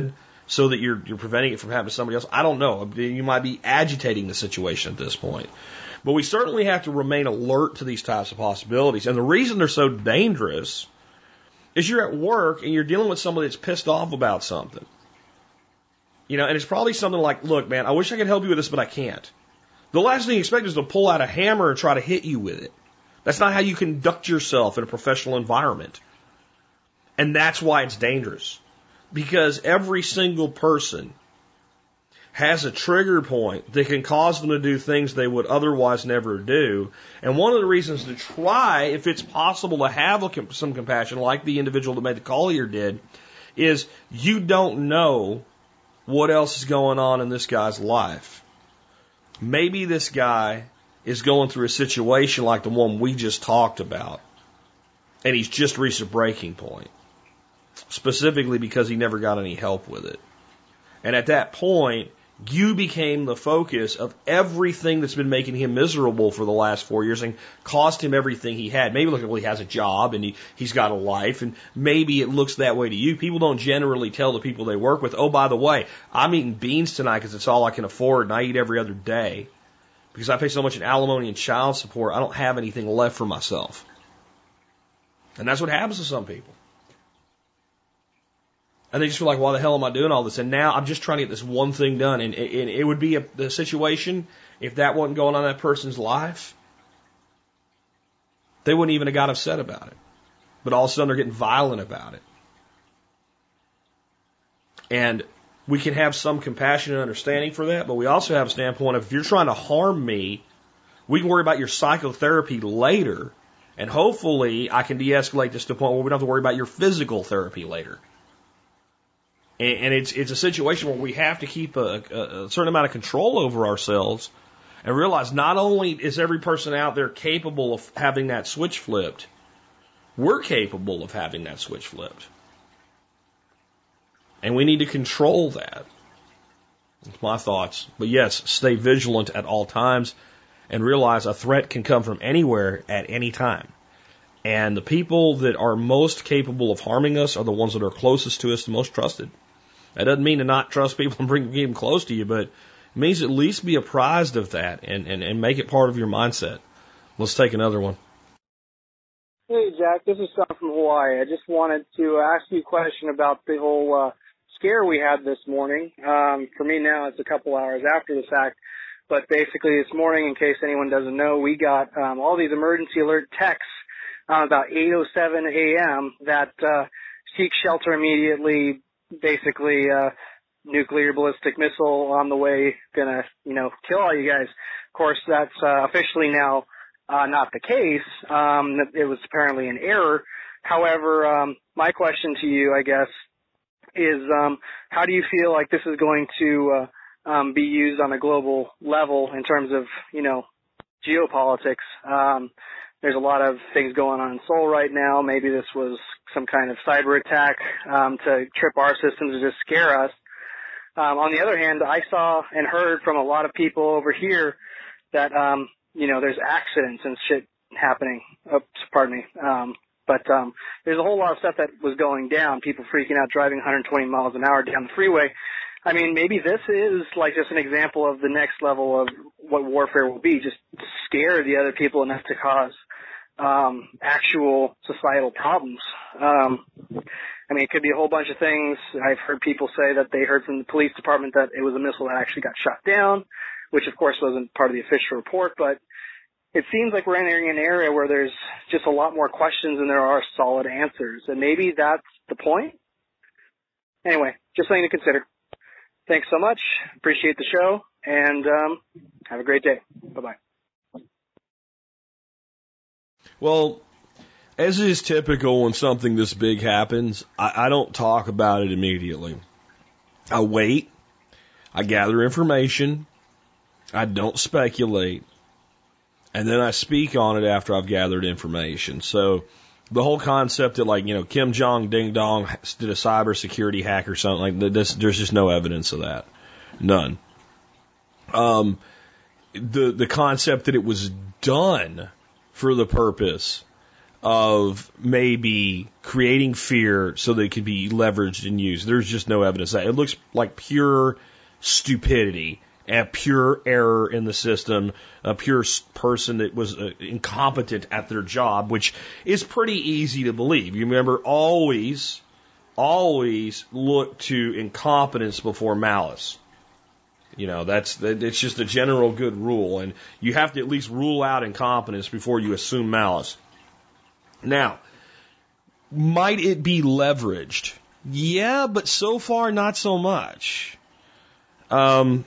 so that you're you're preventing it from happening to somebody else. I don't know. You might be agitating the situation at this point. But we certainly have to remain alert to these types of possibilities. And the reason they're so dangerous is you're at work and you're dealing with somebody that's pissed off about something. You know, and it's probably something like, look, man, I wish I could help you with this, but I can't. The last thing you expect is to pull out a hammer and try to hit you with it. That's not how you conduct yourself in a professional environment. And that's why it's dangerous. Because every single person has a trigger point that can cause them to do things they would otherwise never do. And one of the reasons to try, if it's possible to have some compassion, like the individual that made the call here did, is you don't know what else is going on in this guy's life. Maybe this guy is going through a situation like the one we just talked about, and he's just reached a breaking point, specifically because he never got any help with it. And at that point, you became the focus of everything that's been making him miserable for the last four years and cost him everything he had. Maybe look, well, he has a job and he, he's got a life, and maybe it looks that way to you. People don't generally tell the people they work with, oh, by the way, I'm eating beans tonight because it's all I can afford and I eat every other day. Because I pay so much in alimony and child support, I don't have anything left for myself. And that's what happens to some people. And they just feel like, why the hell am I doing all this? And now I'm just trying to get this one thing done. And it, it would be a, the situation, if that wasn't going on in that person's life, they wouldn't even have got upset about it. But all of a sudden they're getting violent about it. And we can have some compassion and understanding for that, but we also have a standpoint of, if you're trying to harm me, we can worry about your psychotherapy later, and hopefully I can de-escalate this to a point where we don't have to worry about your physical therapy later. And, and it's it's a situation where we have to keep a, a, a certain amount of control over ourselves and realize not only is every person out there capable of having that switch flipped, we're capable of having that switch flipped. And we need to control that. That's my thoughts. But yes, stay vigilant at all times and realize a threat can come from anywhere at any time. And the people that are most capable of harming us are the ones that are closest to us, the most trusted. That doesn't mean to not trust people and bring them close to you, but it means at least be apprised of that and, and, and make it part of your mindset. Let's take another one. Hey, Jack, this is Sean from Hawaii. I just wanted to ask you a question about the whole uh, scare we had this morning. Um, for me now, it's a couple hours after the fact. But basically this morning, in case anyone doesn't know, we got um, all these emergency alert texts uh, about eight oh seven a.m. that uh, seek shelter immediately, basically uh, nuclear ballistic missile on the way, gonna, you know, kill all you guys. Of course, that's uh, officially now uh, not the case. Um, it was apparently an error. However, um, my question to you, I guess, is um, how do you feel like this is going to uh, um, be used on a global level in terms of, you know, geopolitics? Um, there's a lot of things going on in Seoul right now. Maybe this was some kind of cyber attack um, to trip our systems and just scare us. Um, on the other hand, I saw and heard from a lot of people over here that, um, you know, there's accidents and shit happening. Oops, pardon me. Um, but um, there's a whole lot of stuff that was going down, people freaking out, driving one hundred twenty miles an hour down the freeway. I mean, maybe this is like just an example of the next level of what warfare will be, just scare the other people enough to cause um, actual societal problems. Um, I mean, it could be a whole bunch of things. I've heard people say that they heard from the police department that it was a missile that actually got shot down, which of course wasn't part of the official report, but it seems like we're entering an area where there's just a lot more questions than there are solid answers, and maybe that's the point. Anyway, just something to consider. Thanks so much. Appreciate the show, and um, have a great day. Bye-bye. Well, as is typical when something this big happens, I, I don't talk about it immediately. I wait. I gather information. I don't speculate. And then I speak on it after I've gathered information. So the whole concept that, like, you know, Kim Jong Ding Dong did a cybersecurity hack or something like that, this, there's just no evidence of that. None. Um, the the concept that it was done for the purpose of maybe creating fear so that it could be leveraged and used. There's just no evidence of that. It looks like pure stupidity, a pure error in the system, a pure person that was uh, incompetent at their job, which is pretty easy to believe. You remember, always, always look to incompetence before malice. You know, that's, it's just a general good rule, and you have to at least rule out incompetence before you assume malice. Now, might it be leveraged? Yeah, but so far not so much. Um,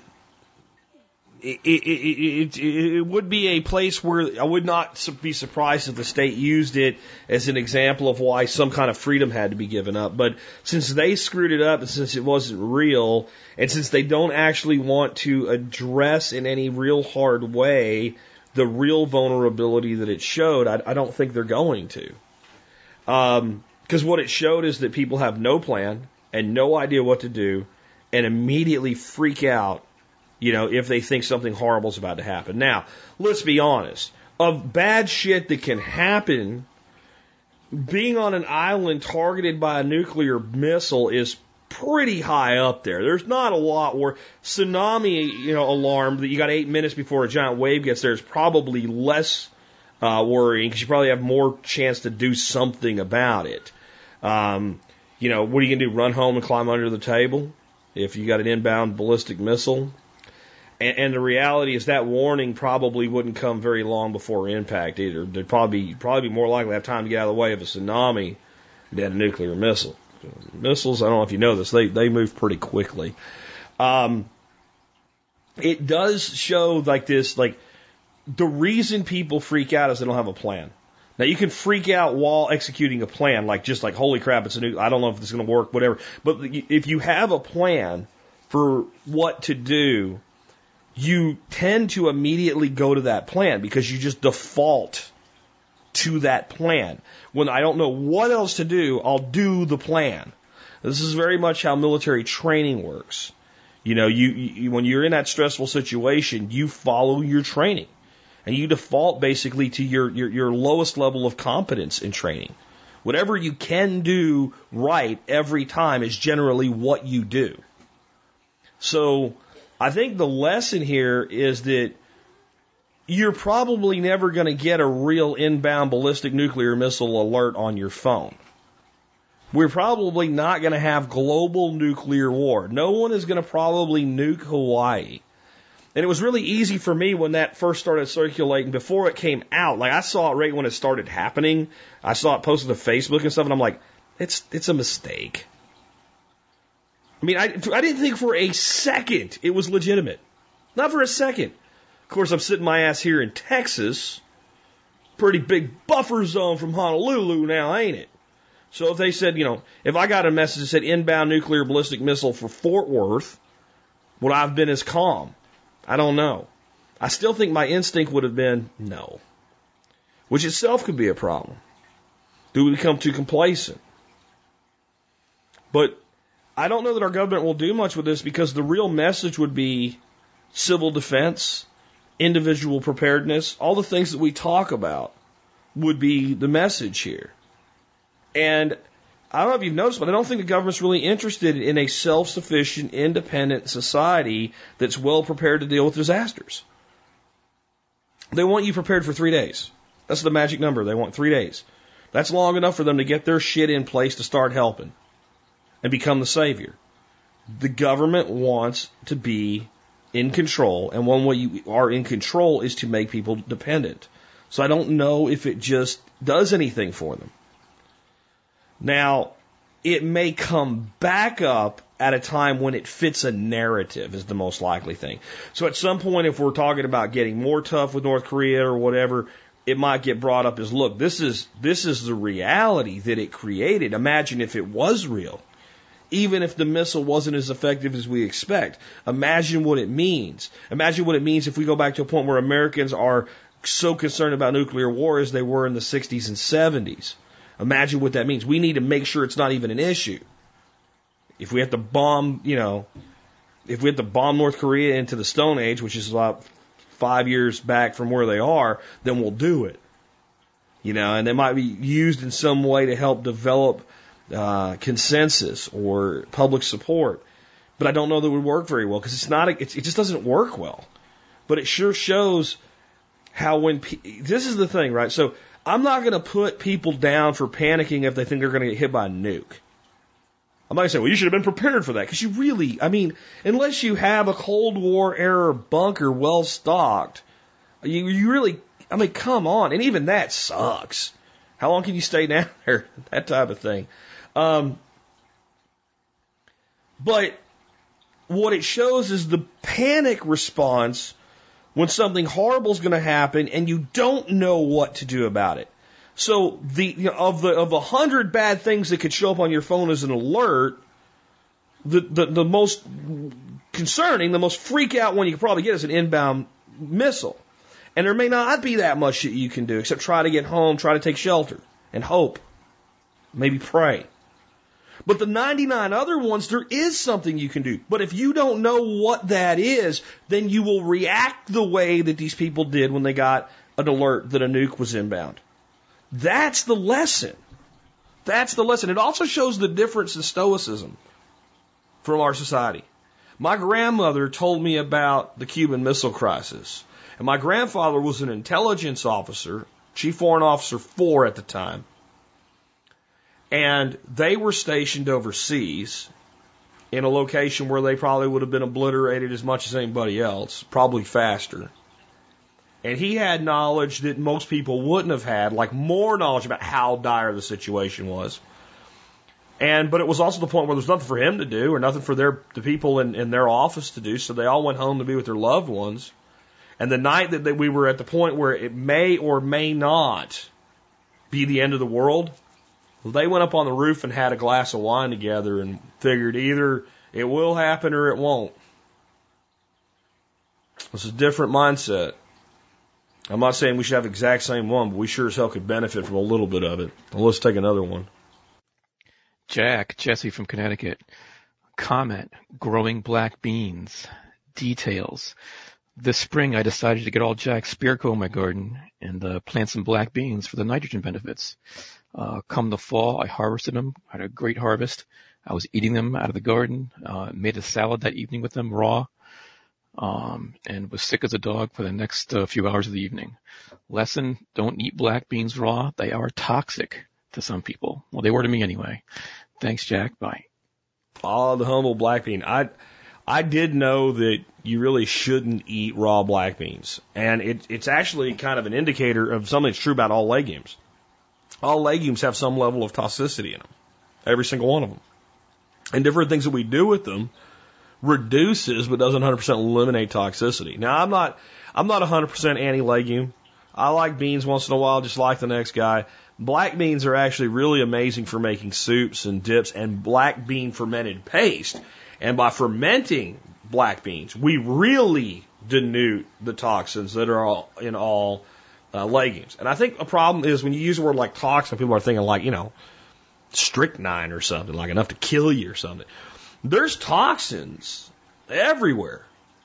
it, it, it, it, it would be a place where I would not be surprised if the state used it as an example of why some kind of freedom had to be given up. But since they screwed it up and since it wasn't real, and since they don't actually want to address in any real hard way the real vulnerability that it showed, I, I don't think they're going to. Um, because what it showed is that people have no plan and no idea what to do and immediately freak out, you know, if they think something horrible is about to happen. Now, let's be honest. Of bad shit that can happen, being on an island targeted by a nuclear missile is pretty high up there. There's not a lot where tsunami, you know, alarm that you got eight minutes before a giant wave gets there is probably less uh, worrying because you probably have more chance to do something about it. Um, you know, what are you going to do? Run home and climb under the table if you got an inbound ballistic missile? And, and the reality is that warning probably wouldn't come very long before impact either. They'd probably be, probably be more likely to have time to get out of the way of a tsunami than a nuclear missile. Missiles, I don't know if you know this, they, they move pretty quickly. Um, it does show like this, like the reason people freak out is they don't have a plan. Now you can freak out while executing a plan, like just like, holy crap, it's a new, I don't know if this is going to work, whatever. But if you have a plan for what to do, you tend to immediately go to that plan because you just default to that plan. When I don't know what else to do, I'll do the plan. This is very much how military training works. You know, you, you when you're in that stressful situation, you follow your training. And you default basically to your, your, your lowest level of competence in training. Whatever you can do right every time is generally what you do. So I think the lesson here is that you're probably never going to get a real inbound ballistic nuclear missile alert on your phone. We're probably not going to have global nuclear war. No one is going to probably nuke Hawaii. And it was really easy for me when that first started circulating, before it came out. Like, I saw it right when it started happening. I saw it posted to Facebook and stuff, and I'm like, it's it's a mistake. I mean, I, I didn't think for a second it was legitimate. Not for a second. Of course, I'm sitting my ass here in Texas. Pretty big buffer zone from Honolulu now, ain't it? So if they said, you know, if I got a message that said inbound nuclear ballistic missile for Fort Worth, would I have been as calm? I don't know. I still think my instinct would have been no. Which itself could be a problem. Do we become too complacent? But I don't know that our government will do much with this because the real message would be civil defense, individual preparedness, all the things that we talk about would be the message here. And I don't know if you've noticed, but I don't think the government's really interested in a self-sufficient, independent society that's well prepared to deal with disasters. They want you prepared for three days. That's the magic number. They want three days. That's long enough for them to get their shit in place to start helping and become the savior. The government wants to be in control, and one way you are in control is to make people dependent. So I don't know if it just does anything for them. Now, it may come back up at a time when it fits a narrative is the most likely thing. So at some point, if we're talking about getting more tough with North Korea or whatever, it might get brought up as, look, this is this is the reality that it created. Imagine if it was real. Even if the missile wasn't as effective as we expect. Imagine what it means. Imagine what it means if we go back to a point where Americans are so concerned about nuclear war as they were in the sixties and seventies. Imagine what that means. We need to make sure it's not even an issue. If we have to bomb, you know, if we have to bomb North Korea into the Stone Age, which is about five years back from where they are, then we'll do it. You know, and they might be used in some way to help develop uh, consensus or public support. But I don't know that it would work very well because it's not. A, it's, it just doesn't work well. But it sure shows how when pe- this is the thing, right? So I'm not going to put people down for panicking if they think they're going to get hit by a nuke. I'm not going to say, well, you should have been prepared for that because you really, I mean, unless you have a Cold War era bunker well stocked, you you really. I mean, come on. And even that sucks. How long can you stay down there? That type of thing. Um, but what it shows is the panic response when something horrible is going to happen and you don't know what to do about it. So the you know, of the of a hundred bad things that could show up on your phone as an alert, the, the, the most concerning, the most freak out one you could probably get is an inbound missile. And there may not be that much that you can do except try to get home, try to take shelter, and hope. Maybe pray. But the ninety-nine other ones, there is something you can do. But if you don't know what that is, then you will react the way that these people did when they got an alert that a nuke was inbound. That's the lesson. That's the lesson. It also shows the difference in stoicism from our society. My grandmother told me about the Cuban Missile Crisis. And my grandfather was an intelligence officer, Chief Warrant Officer four at the time. And they were stationed overseas in a location where they probably would have been obliterated as much as anybody else, probably faster. And he had knowledge that most people wouldn't have had, like more knowledge about how dire the situation was. And but it was also the point where there was nothing for him to do or nothing for their the people in, in their office to do, so they all went home to be with their loved ones. And the night that, that we were at the point where it may or may not be the end of the world, they went up on the roof and had a glass of wine together and figured either it will happen or it won't. It's a different mindset. I'm not saying we should have the exact same one, but we sure as hell could benefit from a little bit of it. Well, let's take another one. Jack, Jesse from Connecticut. Comment, growing black beans. Details. This spring, I decided to get all Jack Spirko in my garden and uh, plant some black beans for the nitrogen benefits. Uh, come the fall, I harvested them, had a great harvest. I was eating them out of the garden, uh, made a salad that evening with them raw, um, and was sick as a dog for the next uh, few hours of the evening. Lesson, don't eat black beans raw. They are toxic to some people. Well, they were to me anyway. Thanks, Jack. Bye. Oh, the humble black bean. I I did know that you really shouldn't eat raw black beans. And it, it's actually kind of an indicator of something that's true about all legumes. All legumes have some level of toxicity in them. Every single one of them. And different things that we do with them reduces but doesn't one hundred percent eliminate toxicity. Now, I'm not I'm not one hundred percent anti-legume. I like beans once in a while, just like the next guy. Black beans are actually really amazing for making soups and dips and black bean fermented paste. And by fermenting black beans, we really denude the toxins that are all in all uh, legumes. And I think a problem is when you use a word like toxin, people are thinking like, you know, strychnine or something, like enough to kill you or something. There's toxins everywhere.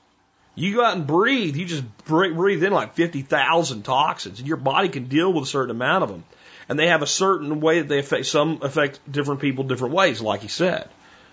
You go out and breathe, you just breathe in like fifty thousand toxins, and your body can deal with a certain amount of them. And they have a certain way that they affect, some affect different people different ways, like he said.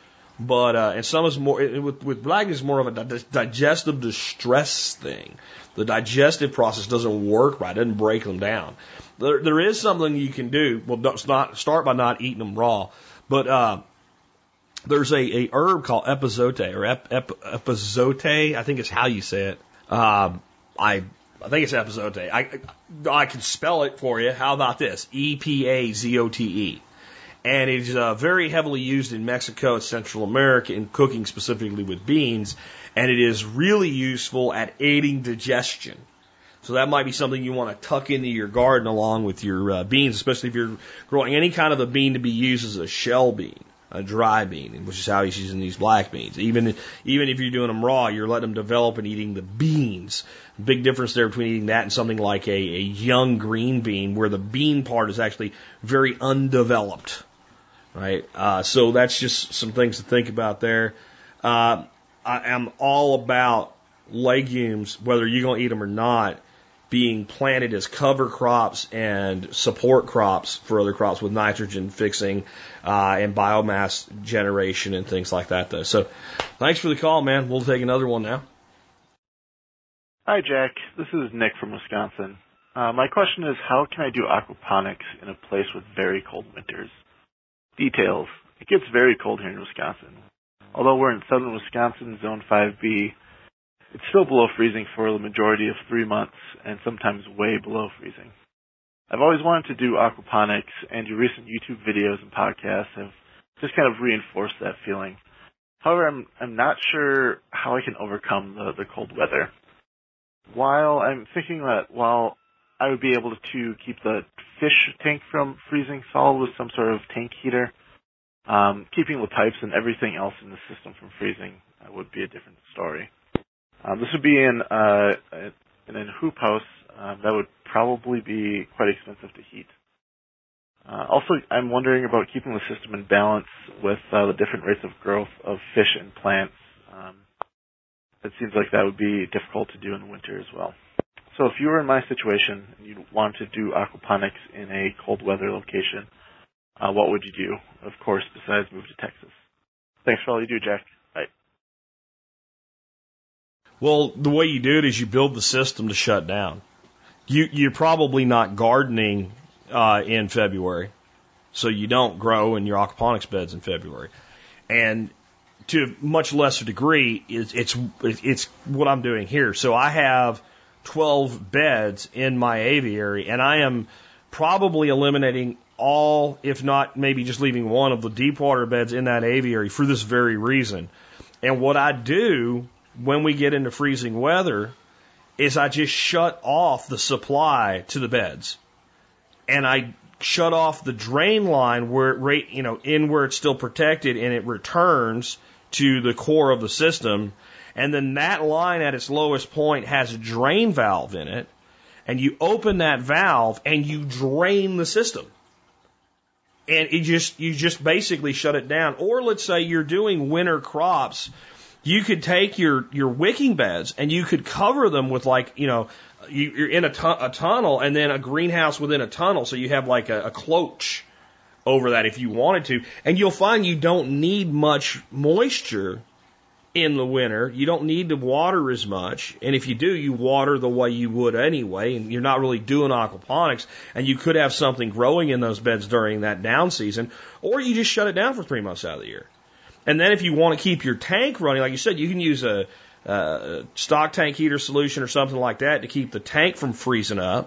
But, uh, and some is more, with, with black is more of a digestive distress thing. The digestive process doesn't work right, it doesn't break them down. There, there is something you can do. Well, don't not, start by not eating them raw. But, uh, there's a, a herb called epazote, or ep, ep, epazote, I think it's how you say it. Um, I, I think it's epazote. I, I can spell it for you. How about this? E P A Z O T E. And it is uh, very heavily used in Mexico and Central America in cooking specifically with beans. And it is really useful at aiding digestion. So that might be something you want to tuck into your garden along with your uh, beans, especially if you're growing any kind of a bean to be used as a shell bean, a dry bean, which is how he's using these black beans. Even, even if you're doing them raw, you're letting them develop and eating the beans. Big difference there between eating that and something like a, a young green bean where the bean part is actually very undeveloped. Right, uh, so that's just some things to think about there. Uh, I am all about legumes, whether you're going to eat them or not, being planted as cover crops and support crops for other crops with nitrogen fixing uh, and biomass generation and things like that, though. So thanks for the call, man. We'll take another one now. Hi, Jack. This is Nick from Wisconsin. Uh, my question is, how can I do aquaponics in a place with very cold winters? Details. It gets very cold here in Wisconsin. Although we're in southern Wisconsin, Zone five B, it's still below freezing for the majority of three months and sometimes way below freezing. I've always wanted to do aquaponics, and your recent YouTube videos and podcasts have just kind of reinforced that feeling. However, I'm, I'm not sure how I can overcome the, the cold weather. While I'm thinking that while I would be able to keep the fish tank from freezing solid with some sort of tank heater, um, keeping the pipes and everything else in the system from freezing uh, would be a different story. Um, this would be in, uh, in a hoop house um, that would probably be quite expensive to heat. Uh, also, I'm wondering about keeping the system in balance with uh, the different rates of growth of fish and plants. Um, it seems like that would be difficult to do in the winter as well. So if you were in my situation and you wanted to do aquaponics in a cold weather location, uh, what would you do? Of course, besides move to Texas. Thanks for all you do, Jack. Bye. Well, the way you do it is you build the system to shut down. You, you're probably not gardening uh, in February, so you don't grow in your aquaponics beds in February. And to a much lesser degree, it's, it's, it's what I'm doing here. So I have twelve beds in my aviary, and I am probably eliminating all, if not maybe just leaving one of the deep water beds in that aviary for this very reason. And what I do when we get into freezing weather is I just shut off the supply to the beds, and I shut off the drain line where it rate, you know, in where it's still protected, and it returns to the core of the system. And then that line at its lowest point has a drain valve in it, and you open that valve and you drain the system. And it just, you just basically shut it down. Or let's say you're doing winter crops, you could take your, your wicking beds and you could cover them with, like, you know, you, you're in a, tu- a tunnel and then a greenhouse within a tunnel, so you have like a, a cloach over that if you wanted to. And you'll find you don't need much moisture in the winter. You don't need to water as much, and if you do, you water the way you would anyway, and you're not really doing aquaponics, and you could have something growing in those beds during that down season, or you just shut it down for three months out of the year. And then if you want to keep your tank running, like you said, you can use a, a stock tank heater solution or something like that to keep the tank from freezing up.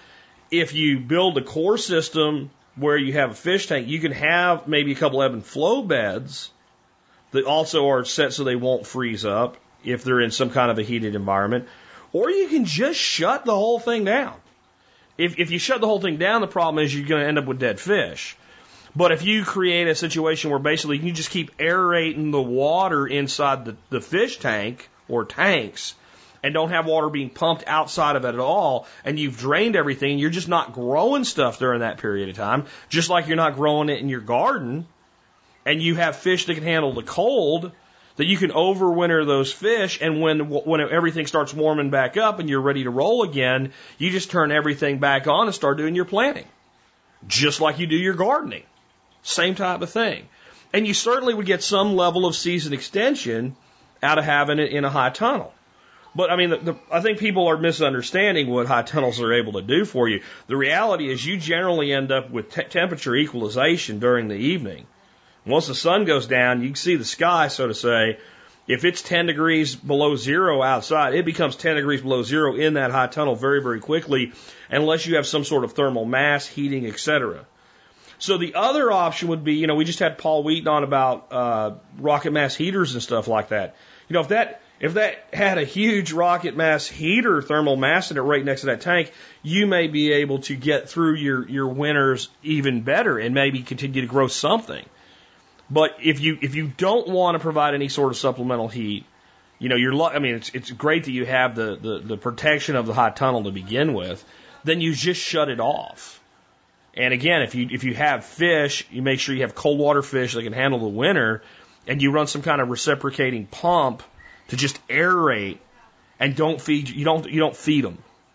If you build a core system where you have a fish tank, you can have maybe a couple ebb and flow beds that also are set so they won't freeze up if they're in some kind of a heated environment. Or you can just shut the whole thing down. If, if you shut the whole thing down, the problem is you're going to end up with dead fish. But if you create a situation where basically you just keep aerating the water inside the, the fish tank or tanks and don't have water being pumped outside of it at all, and you've drained everything, you're just not growing stuff during that period of time, just like you're not growing it in your garden, and you have fish that can handle the cold, that you can overwinter those fish, and when when everything starts warming back up and you're ready to roll again, you just turn everything back on and start doing your planting. Just like you do your gardening. Same type of thing. And you certainly would get some level of season extension out of having it in a high tunnel. But, I mean, the, the, I think people are misunderstanding what high tunnels are able to do for you. The reality is you generally end up with te- temperature equalization during the evening. Once the sun goes down, you can see the sky, so to say. If it's ten degrees below zero outside, it becomes ten degrees below zero in that hot tunnel very, very quickly, unless you have some sort of thermal mass, heating, et cetera. So the other option would be, you know, we just had Paul Wheaton on about uh, rocket mass heaters and stuff like that. You know, if that if that had a huge rocket mass heater thermal mass in it right next to that tank, you may be able to get through your, your winters even better and maybe continue to grow something. But if you if you don't want to provide any sort of supplemental heat, you know, you're I mean, it's it's great that you have the, the, the protection of the hot tunnel to begin with, then you just shut it off. And again, if you if you have fish, you make sure you have cold water fish that can handle the winter, and you run some kind of reciprocating pump to just aerate, and don't feed you don't you don't feed them.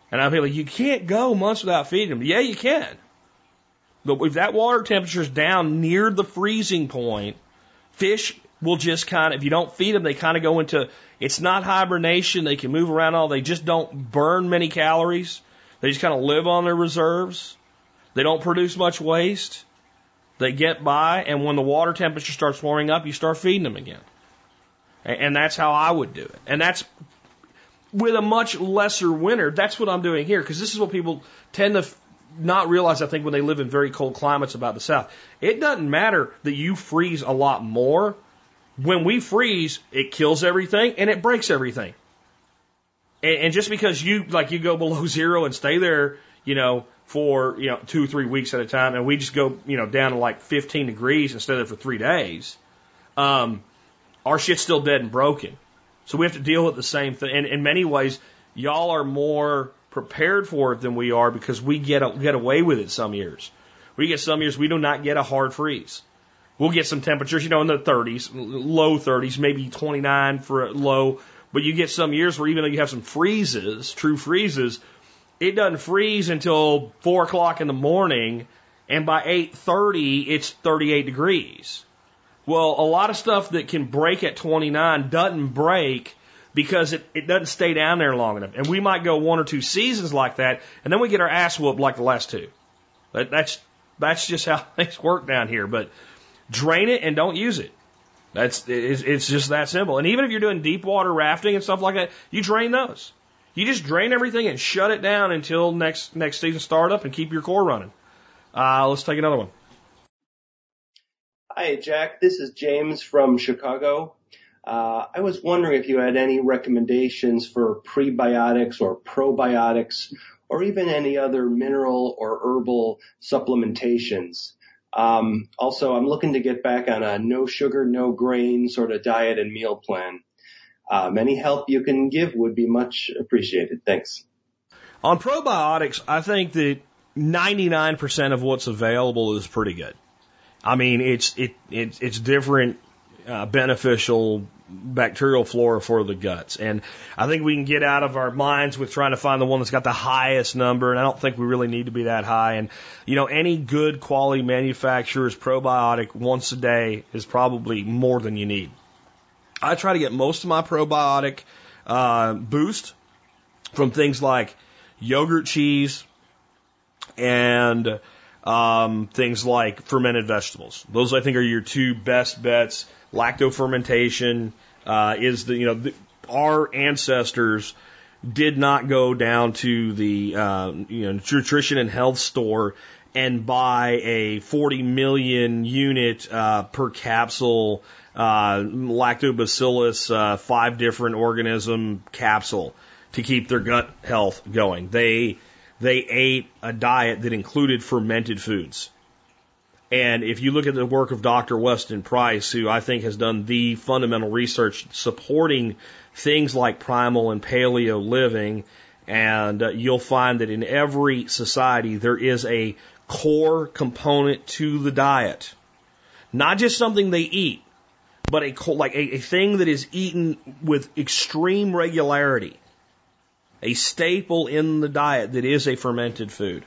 And I'll be like, you can't go months without feeding them. Yeah, you can. But if that water temperature is down near the freezing point, fish will just kind of, if you don't feed them, they kind of go into, it's not hibernation. They can move around all. They just don't burn many calories. They just kind of live on their reserves. They don't produce much waste. They get by, and when the water temperature starts warming up, you start feeding them again. And that's how I would do it. And that's with a much lesser winter. That's what I'm doing here, because this is what people tend to not realize, I think, when they live in very cold climates about the South. It doesn't matter that you freeze a lot more. When we freeze, it kills everything and it breaks everything. And, and just because you, like, you go below zero and stay there, you know, for, you know, two or three weeks at a time, and we just go, you know, down to like fifteen degrees and stay there for three days, um, our shit's still dead and broken. So we have to deal with the same thing. And in many ways, y'all are more prepared for it than we are, because we get a, get away with it some years. We get some years we do not get a hard freeze. We'll get some temperatures, you know, in the thirties, low thirties, maybe twenty-nine for a low. But you get some years where even though you have some freezes, true freezes, it doesn't freeze until four o'clock in the morning, and by eight thirty, it's thirty-eight degrees. Well, a lot of stuff that can break at twenty-nine doesn't break because it, it doesn't stay down there long enough. And we might go one or two seasons like that, and then we get our ass whooped like the last two. That, that's that's just how things work down here. But drain it and don't use it. That's it's, it's just that simple. And even if you're doing deep water rafting and stuff like that, you drain those. You just drain everything and shut it down until next next season start up and keep your core running. Uh, let's take another one. Hi, Jack. This is James from Chicago. Uh, I was wondering if you had any recommendations for prebiotics or probiotics, or even any other mineral or herbal supplementations. Um, also, I'm looking to get back on a no sugar, no grain sort of diet and meal plan. Um, any help you can give would be much appreciated. Thanks. On probiotics, I think that ninety-nine percent of what's available is pretty good. I mean, it's it, it it's different uh, beneficial bacterial flora for the guts, and I think we can get out of our minds with trying to find the one that's got the highest number. And I don't think we really need to be that high. And you know, any good quality manufacturer's probiotic once a day is probably more than you need. I try to get most of my probiotic uh, boost from things like yogurt, cheese, and um, things like fermented vegetables. Those, I think, are your two best bets. Lactofermentation uh, is the, you know, the, our ancestors did not go down to the uh, you know, nutrition and health store and buy a forty million unit uh, per capsule uh, lactobacillus, uh, five different organism capsule to keep their gut health going. They they ate a diet that included fermented foods. And if you look at the work of Doctor Weston Price, who I think has done the fundamental research supporting things like primal and paleo living, and uh, you'll find that in every society there is a core component to the diet. Not just something they eat, but a like a, a thing that is eaten with extreme regularity. A staple in the diet that is a fermented food.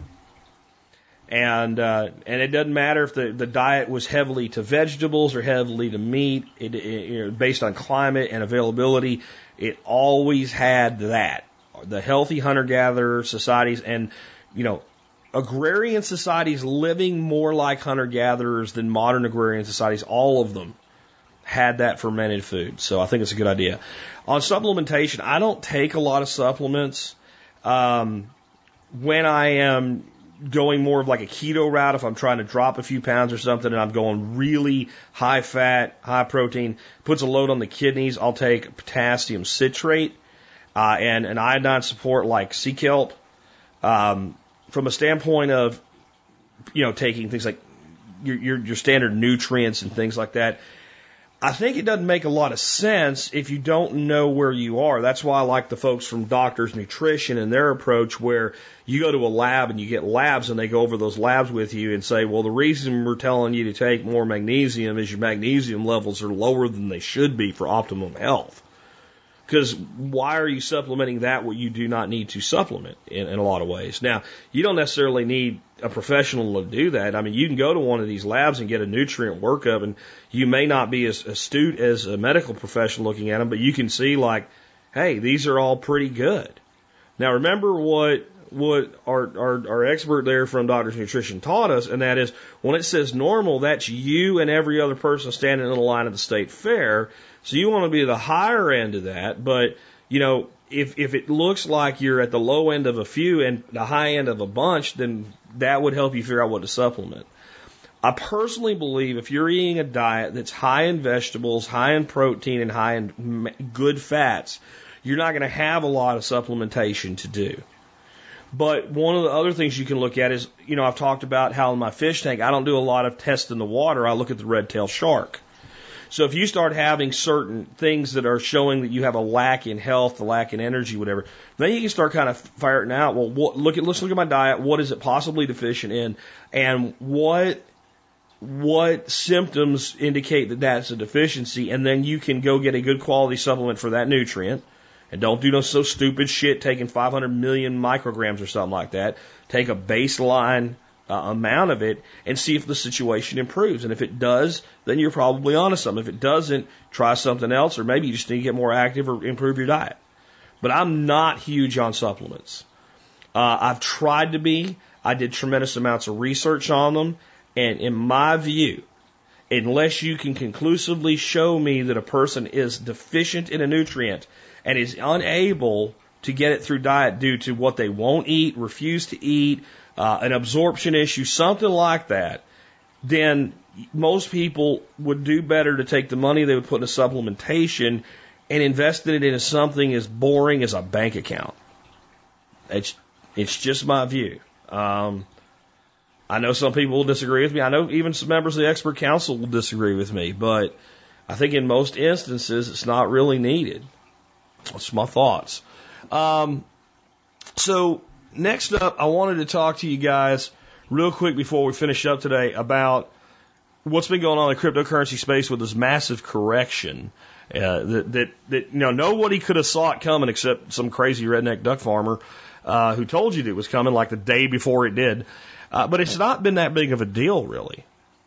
And uh, and it doesn't matter if the, the diet was heavily to vegetables or heavily to meat, it, it, you know, based on climate and availability, it always had that. The healthy hunter-gatherer societies and, you know, agrarian societies living more like hunter-gatherers than modern agrarian societies, all of them had that fermented food. So I think it's a good idea. On supplementation, I don't take a lot of supplements. Um, when I am going more of like a keto route, if I'm trying to drop a few pounds or something and I'm going really high fat, high protein, puts a load on the kidneys, I'll take potassium citrate uh, and an iodine support like sea kelp. Um, from a standpoint of, you know, taking things like your, your, your standard nutrients and things like that, I think it doesn't make a lot of sense if you don't know where you are. That's why I like the folks from Doctors Nutrition and their approach, where you go to a lab and you get labs and they go over those labs with you and say, well, the reason we're telling you to take more magnesium is your magnesium levels are lower than they should be for optimum health. Because why are you supplementing that what you do not need to supplement in, in a lot of ways? Now, you don't necessarily need a professional to do that. I mean, you can go to one of these labs and get a nutrient workup, and you may not be as astute as a medical professional looking at them, but you can see like, hey, these are all pretty good. Now, remember what what our, our, our expert there from Doctor's Nutrition taught us, and that is when it says normal, that's you and every other person standing in the line at the state fair. So you want to be the higher end of that, but, you know, if, if it looks like you're at the low end of a few and the high end of a bunch, then that would help you figure out what to supplement. I personally believe if you're eating a diet that's high in vegetables, high in protein, and high in good fats, you're not going to have a lot of supplementation to do. But one of the other things you can look at is, you know, I've talked about how in my fish tank, I don't do a lot of tests in the water. I look at the red-tailed shark. So if you start having certain things that are showing that you have a lack in health, a lack in energy, whatever, then you can start kind of ferreting out, well, what, look at, let's look at my diet. What is it possibly deficient in? And what, what symptoms indicate that that's a deficiency? And then you can go get a good quality supplement for that nutrient. And don't do no so stupid shit taking five hundred million micrograms or something like that. Take a baseline uh, amount of it and see if the situation improves. And if it does, then you're probably onto something. If it doesn't, try something else, or maybe you just need to get more active or improve your diet. But I'm not huge on supplements. Uh, I've tried to be. I did tremendous amounts of research on them. And in my view, unless you can conclusively show me that a person is deficient in a nutrient and is unable to get it through diet due to what they won't eat, refuse to eat, uh, an absorption issue, something like that, then most people would do better to take the money they would put in a supplementation and invest it into something as boring as a bank account. It's, it's just my view. Um, I know some people will disagree with me. I know even some members of the expert council will disagree with me, but I think in most instances it's not really needed. That's my thoughts. Um, so next up, I wanted to talk to you guys real quick before we finish up today about what's been going on in the cryptocurrency space with this massive correction uh, that, that, that, you know, nobody could have saw it coming except some crazy redneck duck farmer uh, who told you that it was coming like the day before it did. Uh, but it's not been that big of a deal, really.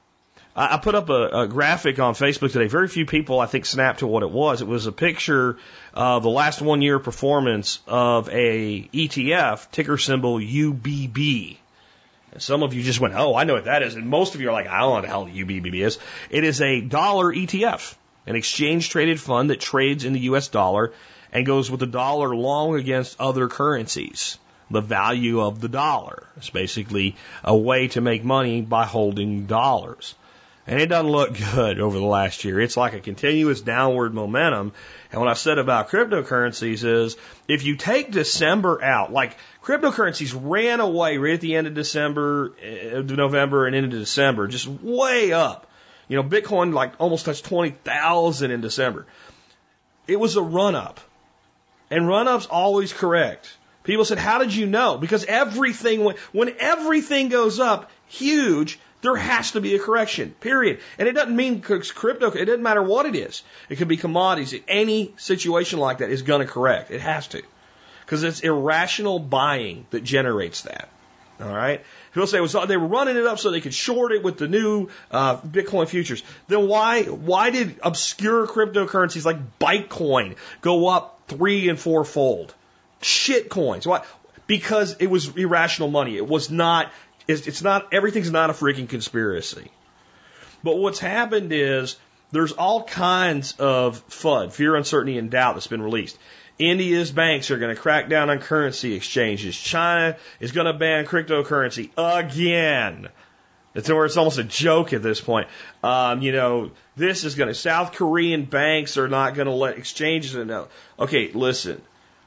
I put up a, a graphic on Facebook today. Very few people, I think, snapped to what it was. It was a picture of the last one year performance of a E T F, ticker symbol U B B. And some of you just went, oh, I know what that is. And most of you are like, I don't know what the hell the U B B is. It is a dollar E T F, an exchange traded fund that trades in the U S dollar and goes with the dollar long against other currencies. The value of the dollar. It's basically a way to make money by holding dollars. And it doesn't look good over the last year. It's like a continuous downward momentum. And what I said about cryptocurrencies is if you take December out, like cryptocurrencies ran away right at the end of December, uh, November and into December, just way up. You know, Bitcoin like almost touched twenty thousand in December. It was a run up. And run up's always correct. People said, how did you know? Because everything, when everything goes up huge, there has to be a correction, period. And it doesn't mean crypto, it doesn't matter what it is. It could be commodities. Any situation like that is going to correct. It has to. Because it's irrational buying that generates that. All right? People say it was, they were running it up so they could short it with the new uh, Bitcoin futures. Then why, why did obscure cryptocurrencies like Bitcoin go up three and four fold? Shit coins. Why? Because it was irrational money. It was not, it's, it's not, everything's not a freaking conspiracy. But what's happened is there's all kinds of F U D, fear, uncertainty, and doubt that's been released. India's banks are going to crack down on currency exchanges. China is going to ban cryptocurrency again. It's where it's almost a joke at this point. Um, you know, this is going to, South Korean banks are not going to let exchanges know. Okay, listen.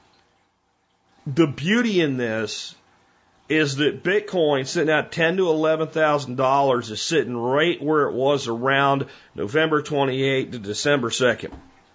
The beauty in this is that Bitcoin sitting at ten to eleven thousand dollars is sitting right where it was around November twenty-eighth to December second.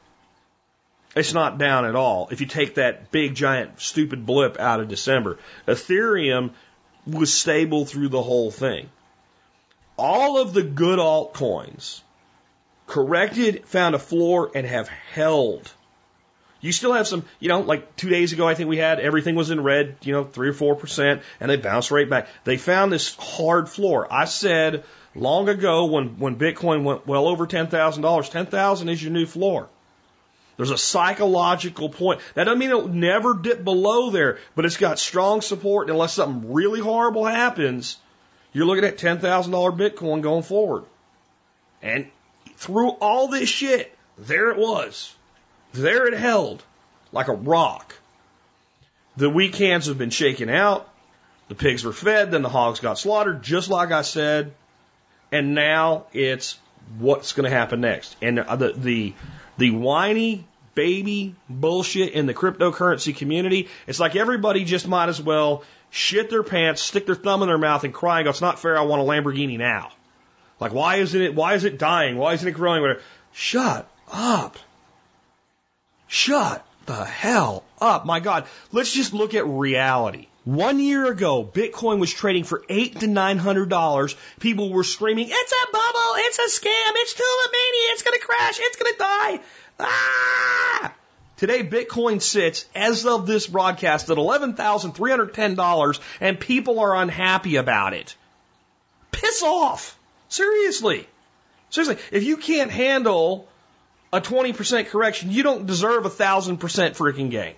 It's not down at all. If you take that big giant stupid blip out of December, Ethereum was stable through the whole thing. All of the good altcoins corrected, found a floor, and have held. You still have some, you know, like two days ago, I think we had everything was in red, you know, three or four percent, and they bounced right back. They found this hard floor. I said long ago when, when Bitcoin went well over ten thousand dollars, ten thousand is your new floor. There's a psychological point. That doesn't mean it'll never dip below there, but it's got strong support. And unless something really horrible happens, you're looking at ten thousand dollars Bitcoin going forward. And through all this shit, there it was. There it held like a rock. The weak hands have been shaken out. The pigs were fed. Then the hogs got slaughtered, just like I said. And now it's what's going to happen next. And the, the, the whiny baby bullshit in the cryptocurrency community, it's like everybody just might as well shit their pants, stick their thumb in their mouth and cry and go, it's not fair, I want a Lamborghini now. Like, why isn't it, why is it dying? Why isn't it growing? Whatever. Shut up. Shut the hell up. My God, let's just look at reality. One year ago, Bitcoin was trading for eight to nine hundred dollars. People were screaming, "It's a bubble! It's a scam! It's Tulipmania! It's going to crash! It's going to die!" Ah! Today, Bitcoin sits, as of this broadcast, at eleven thousand three hundred ten dollars, and people are unhappy about it. Piss off! Seriously, seriously. If you can't handle a twenty percent correction, you don't deserve a thousand percent freaking gain.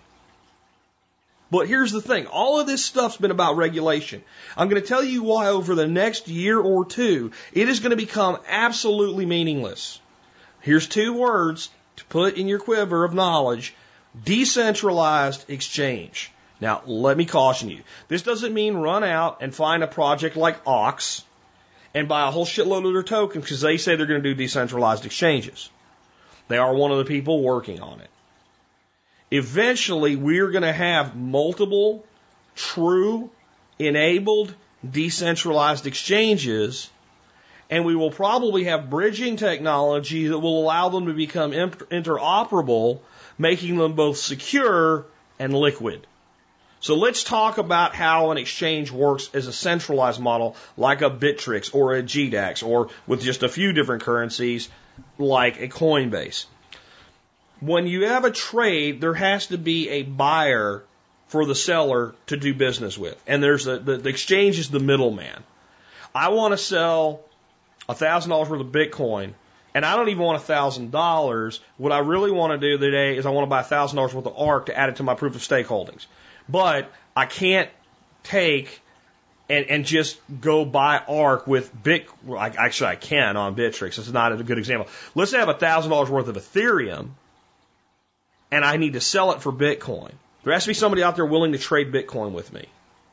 But here's the thing. All of this stuff's been about regulation. I'm going to tell you why over the next year or two, it is going to become absolutely meaningless. Here's two words to put in your quiver of knowledge. Decentralized exchange. Now, let me caution you. This doesn't mean run out and find a project like Ox and buy a whole shitload of their tokens because they say they're going to do decentralized exchanges. They are one of the people working on it. Eventually, we're going to have multiple true enabled decentralized exchanges, and we will probably have bridging technology that will allow them to become interoperable, making them both secure and liquid. So let's talk about how an exchange works as a centralized model like a Bittrex or a G DAX or with just a few different currencies like a Coinbase. When you have a trade, there has to be a buyer for the seller to do business with. And there's a, the, the exchange is the middleman. I want to sell one thousand dollars worth of Bitcoin, and I don't even want one thousand dollars. What I really want to do today is I want to buy one thousand dollars worth of A R C to add it to my proof of stake holdings. But I can't take and, and just go buy A R C with Bit. Well, I, actually, I can on Bittrex. It's not a good example. Let's say I have one thousand dollars worth of Ethereum, and I need to sell it for Bitcoin. There has to be somebody out there willing to trade Bitcoin with me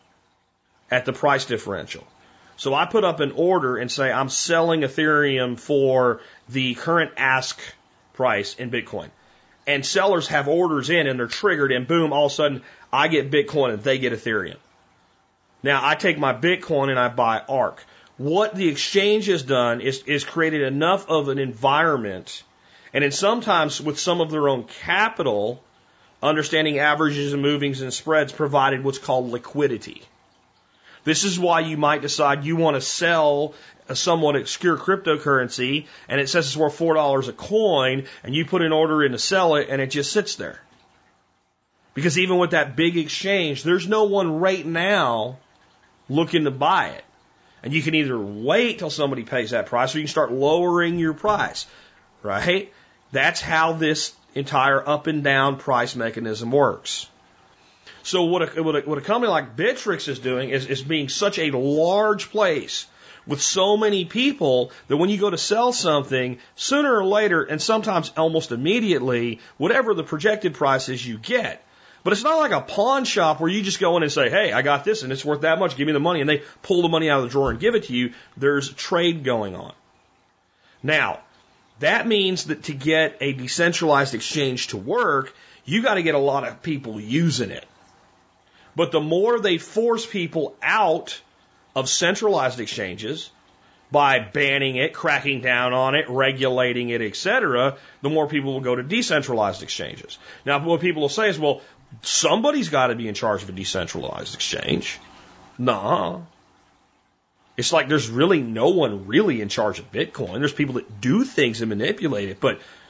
at the price differential. So I put up an order and say I'm selling Ethereum for the current ask price in Bitcoin. And sellers have orders in and they're triggered and boom, all of a sudden I get Bitcoin and they get Ethereum. Now I take my Bitcoin and I buy A R C. What the exchange has done is, is created enough of an environment, and then sometimes with some of their own capital, understanding averages and movings and spreads, provided what's called liquidity. This is why you might decide you want to sell a somewhat obscure cryptocurrency and it says it's worth four dollars a coin, and you put an order in to sell it and it just sits there. Because even with that big exchange, there's no one right now looking to buy it. And you can either wait till somebody pays that price or you can start lowering your price, right? That's how this entire up and down price mechanism works. So what a, what a, what a company like Bittrex is doing is, is being such a large place with so many people that when you go to sell something, sooner or later, and sometimes almost immediately, whatever the projected price is, you get. But it's not like a pawn shop where you just go in and say, hey, I got this and it's worth that much, give me the money, and they pull the money out of the drawer and give it to you. There's trade going on. Now, that means that to get a decentralized exchange to work, you got to get a lot of people using it. But the more they force people out of centralized exchanges by banning it, cracking down on it, regulating it, et cetera, the more people will go to decentralized exchanges. Now, what people will say is, well, somebody's got to be in charge of a decentralized exchange. Nah. It's like there's really no one really in charge of Bitcoin. There's people that do things and manipulate it, but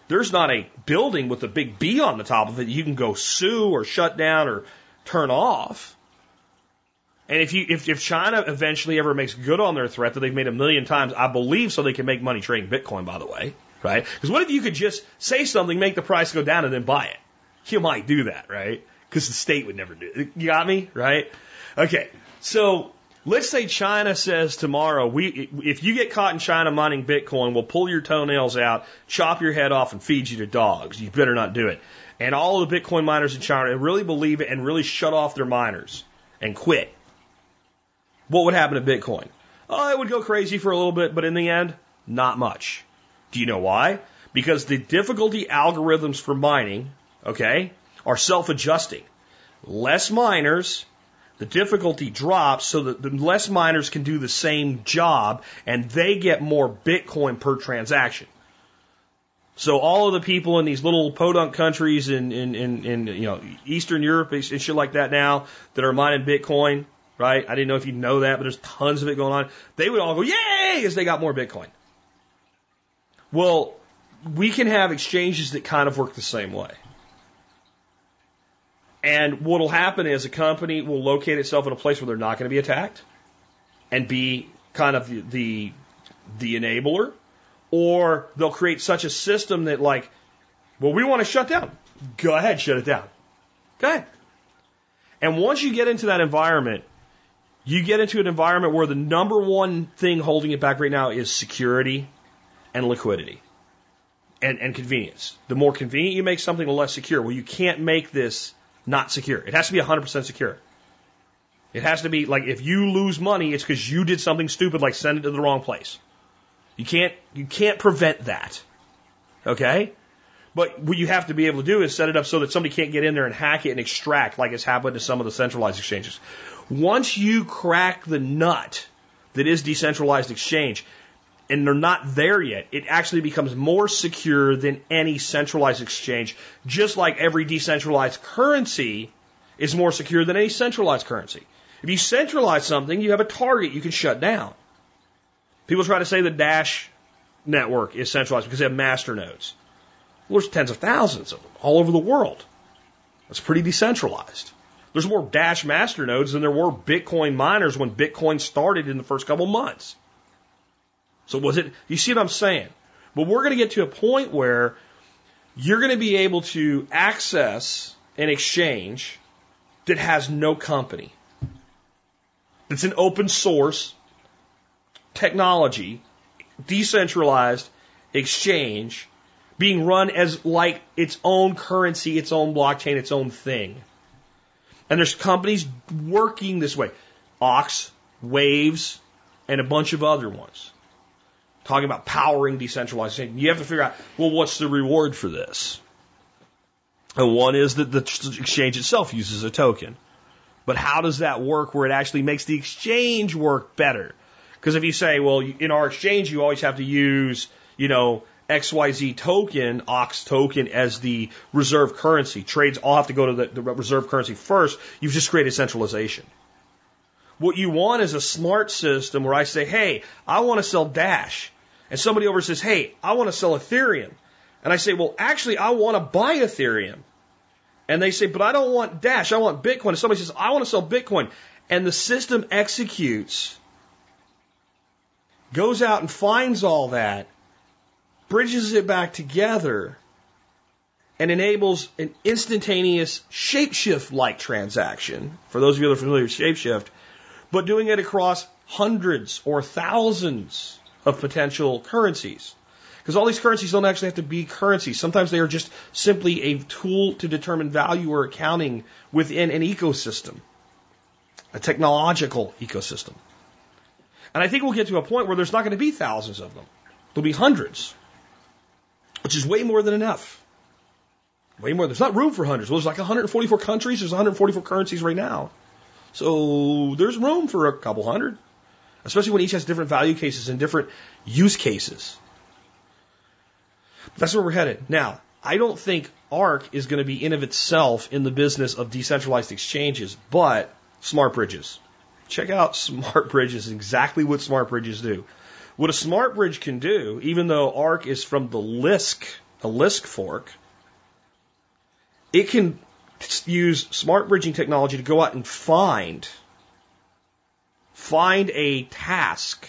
there's not a building with a big B on the top of it you can go sue or shut down or turn off. And if you if, if China eventually ever makes good on their threat that they've made a million times, I believe so they can make money trading Bitcoin, by the way, right? Because what if you could just say something, make the price go down, and then buy it? You might do that, right? Because the state would never do it. You got me, right? Okay, so let's say China says tomorrow, we if you get caught in China mining Bitcoin, we'll pull your toenails out, chop your head off, and feed you to dogs. You better not do it. And all of the Bitcoin miners in China really believe it and really shut off their miners and quit. What would happen to Bitcoin? Oh, it would go crazy for a little bit, but in the end, not much. Do you know why? Because the difficulty algorithms for mining, okay, are self-adjusting. Less miners, the difficulty drops so that the less miners can do the same job and they get more Bitcoin per transaction. So all of the people in these little podunk countries in, in, in, in you know, Eastern Europe and shit like that now that are mining Bitcoin, right? I didn't know if you know that, but there's tons of it going on. They would all go, yay, as they got more Bitcoin. Well, we can have exchanges that kind of work the same way. And what will happen is a company will locate itself in a place where they're not going to be attacked and be kind of the, the, the enabler. Or they'll create such a system that like, well, we want to shut down. Go ahead, shut it down. Go ahead. And once you get into that environment, you get into an environment where the number one thing holding it back right now is security and liquidity and, and convenience. The more convenient you make something, the less secure. Well, you can't make this not secure. It has to be one hundred percent secure. It has to be like if you lose money, it's because you did something stupid like send it to the wrong place. You can't, you can't prevent that. Okay? But what you have to be able to do is set it up so that somebody can't get in there and hack it and extract like it's happened to some of the centralized exchanges. Once you crack the nut that is decentralized exchange, and they're not there yet, it actually becomes more secure than any centralized exchange, just like every decentralized currency is more secure than any centralized currency. If you centralize something, you have a target you can shut down. People try to say the Dash network is centralized because they have master nodes. Well, there's tens of thousands of them all over the world. That's pretty decentralized. There's more Dash master nodes than there were Bitcoin miners when Bitcoin started in the first couple months. So was it, you see what I'm saying? But we're going to get to a point where you're going to be able to access an exchange that has no company. It's an open source technology, decentralized exchange being run as like its own currency, its own blockchain, its own thing. And there's companies working this way. Ox, Waves, and a bunch of other ones. Talking about powering decentralization. You have to figure out, well, what's the reward for this? And one is that the exchange itself uses a token. But how does that work where it actually makes the exchange work better? Because if you say, well, in our exchange, you always have to use, you know, X Y Z token, Ox token, as the reserve currency. Trades all have to go to the, the reserve currency first. You've just created centralization. What you want is a smart system where I say, hey, I want to sell Dash. And somebody over says, hey, I want to sell Ethereum. And I say, well, actually, I want to buy Ethereum. And they say, but I don't want Dash, I want Bitcoin. And somebody says, I want to sell Bitcoin. And the system executes, goes out and finds all that, bridges it back together, and enables an instantaneous Shapeshift-like transaction, for those of you that are familiar with Shapeshift, but doing it across hundreds or thousands of potential currencies. Because all these currencies don't actually have to be currencies. Sometimes they are just simply a tool to determine value or accounting within an ecosystem, a technological ecosystem. And I think we'll get to a point where there's not going to be thousands of them. There'll be hundreds, which is way more than enough. Way more. There's not room for hundreds. Well, there's like one hundred forty-four countries. There's one hundred forty-four currencies right now. So there's room for a couple hundred, especially when each has different value cases and different use cases. That's where we're headed. Now, I don't think Arc is going to be in of itself in the business of decentralized exchanges, but smart bridges. Check out smart bridges, exactly what smart bridges do. What a smart bridge can do, even though Arc is from the Lisk a Lisk fork, it can use smart bridging technology to go out and find, find a task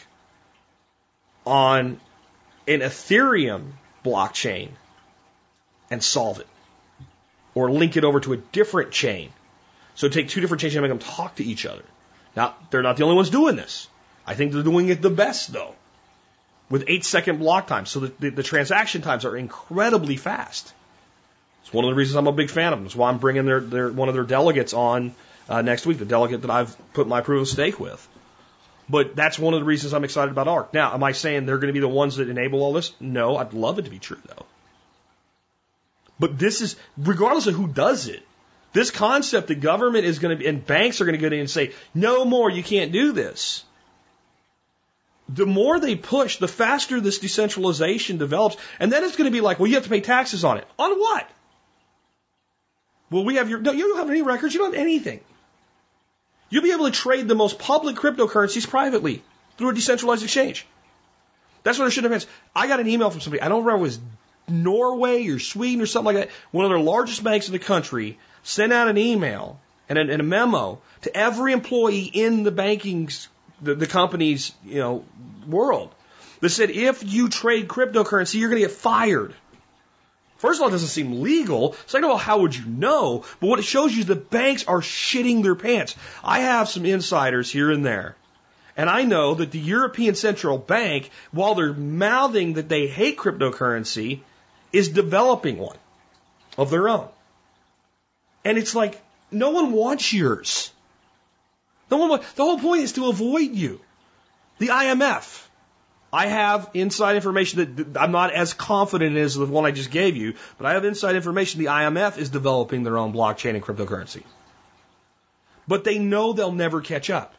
on an Ethereum blockchain and solve it. Or link it over to a different chain. So take two different chains and make them talk to each other. Now, they're not the only ones doing this. I think they're doing it the best, though, with eight second block times. So the, the, the transaction times are incredibly fast. It's one of the reasons I'm a big fan of them. It's why I'm bringing their, their, one of their delegates on uh, next week, the delegate that I've put my proof of stake with. But that's one of the reasons I'm excited about ARK. Now, am I saying they're going to be the ones that enable all this? No, I'd love it to be true, though. But this is, regardless of who does it, this concept that government is going to be, and banks are going to get in and say, no more, you can't do this. The more they push, the faster this decentralization develops. And then it's going to be like, well, you have to pay taxes on it. On what? Well, we have your, no, you don't have any records, you don't have anything. You'll be able to trade the most public cryptocurrencies privately through a decentralized exchange. That's what it should have been. I got an email from somebody, I don't remember if it was Norway or Sweden or something like that, one of their largest banks in the country sent out an email and a, and a memo to every employee in the banking, the, the company's, you know, world that said, if you trade cryptocurrency, you're going to get fired. First of all, it doesn't seem legal. Second of all, how would you know? But what it shows you is the banks are shitting their pants. I have some insiders here and there. And I know that the European Central Bank, while they're mouthing that they hate cryptocurrency, is developing one of their own. And it's like, no one wants yours. No one wants, the whole point is to avoid you. The I M F. I have inside information that I'm not as confident as the one I just gave you, but I have inside information the I M F is developing their own blockchain and cryptocurrency. But they know they'll never catch up.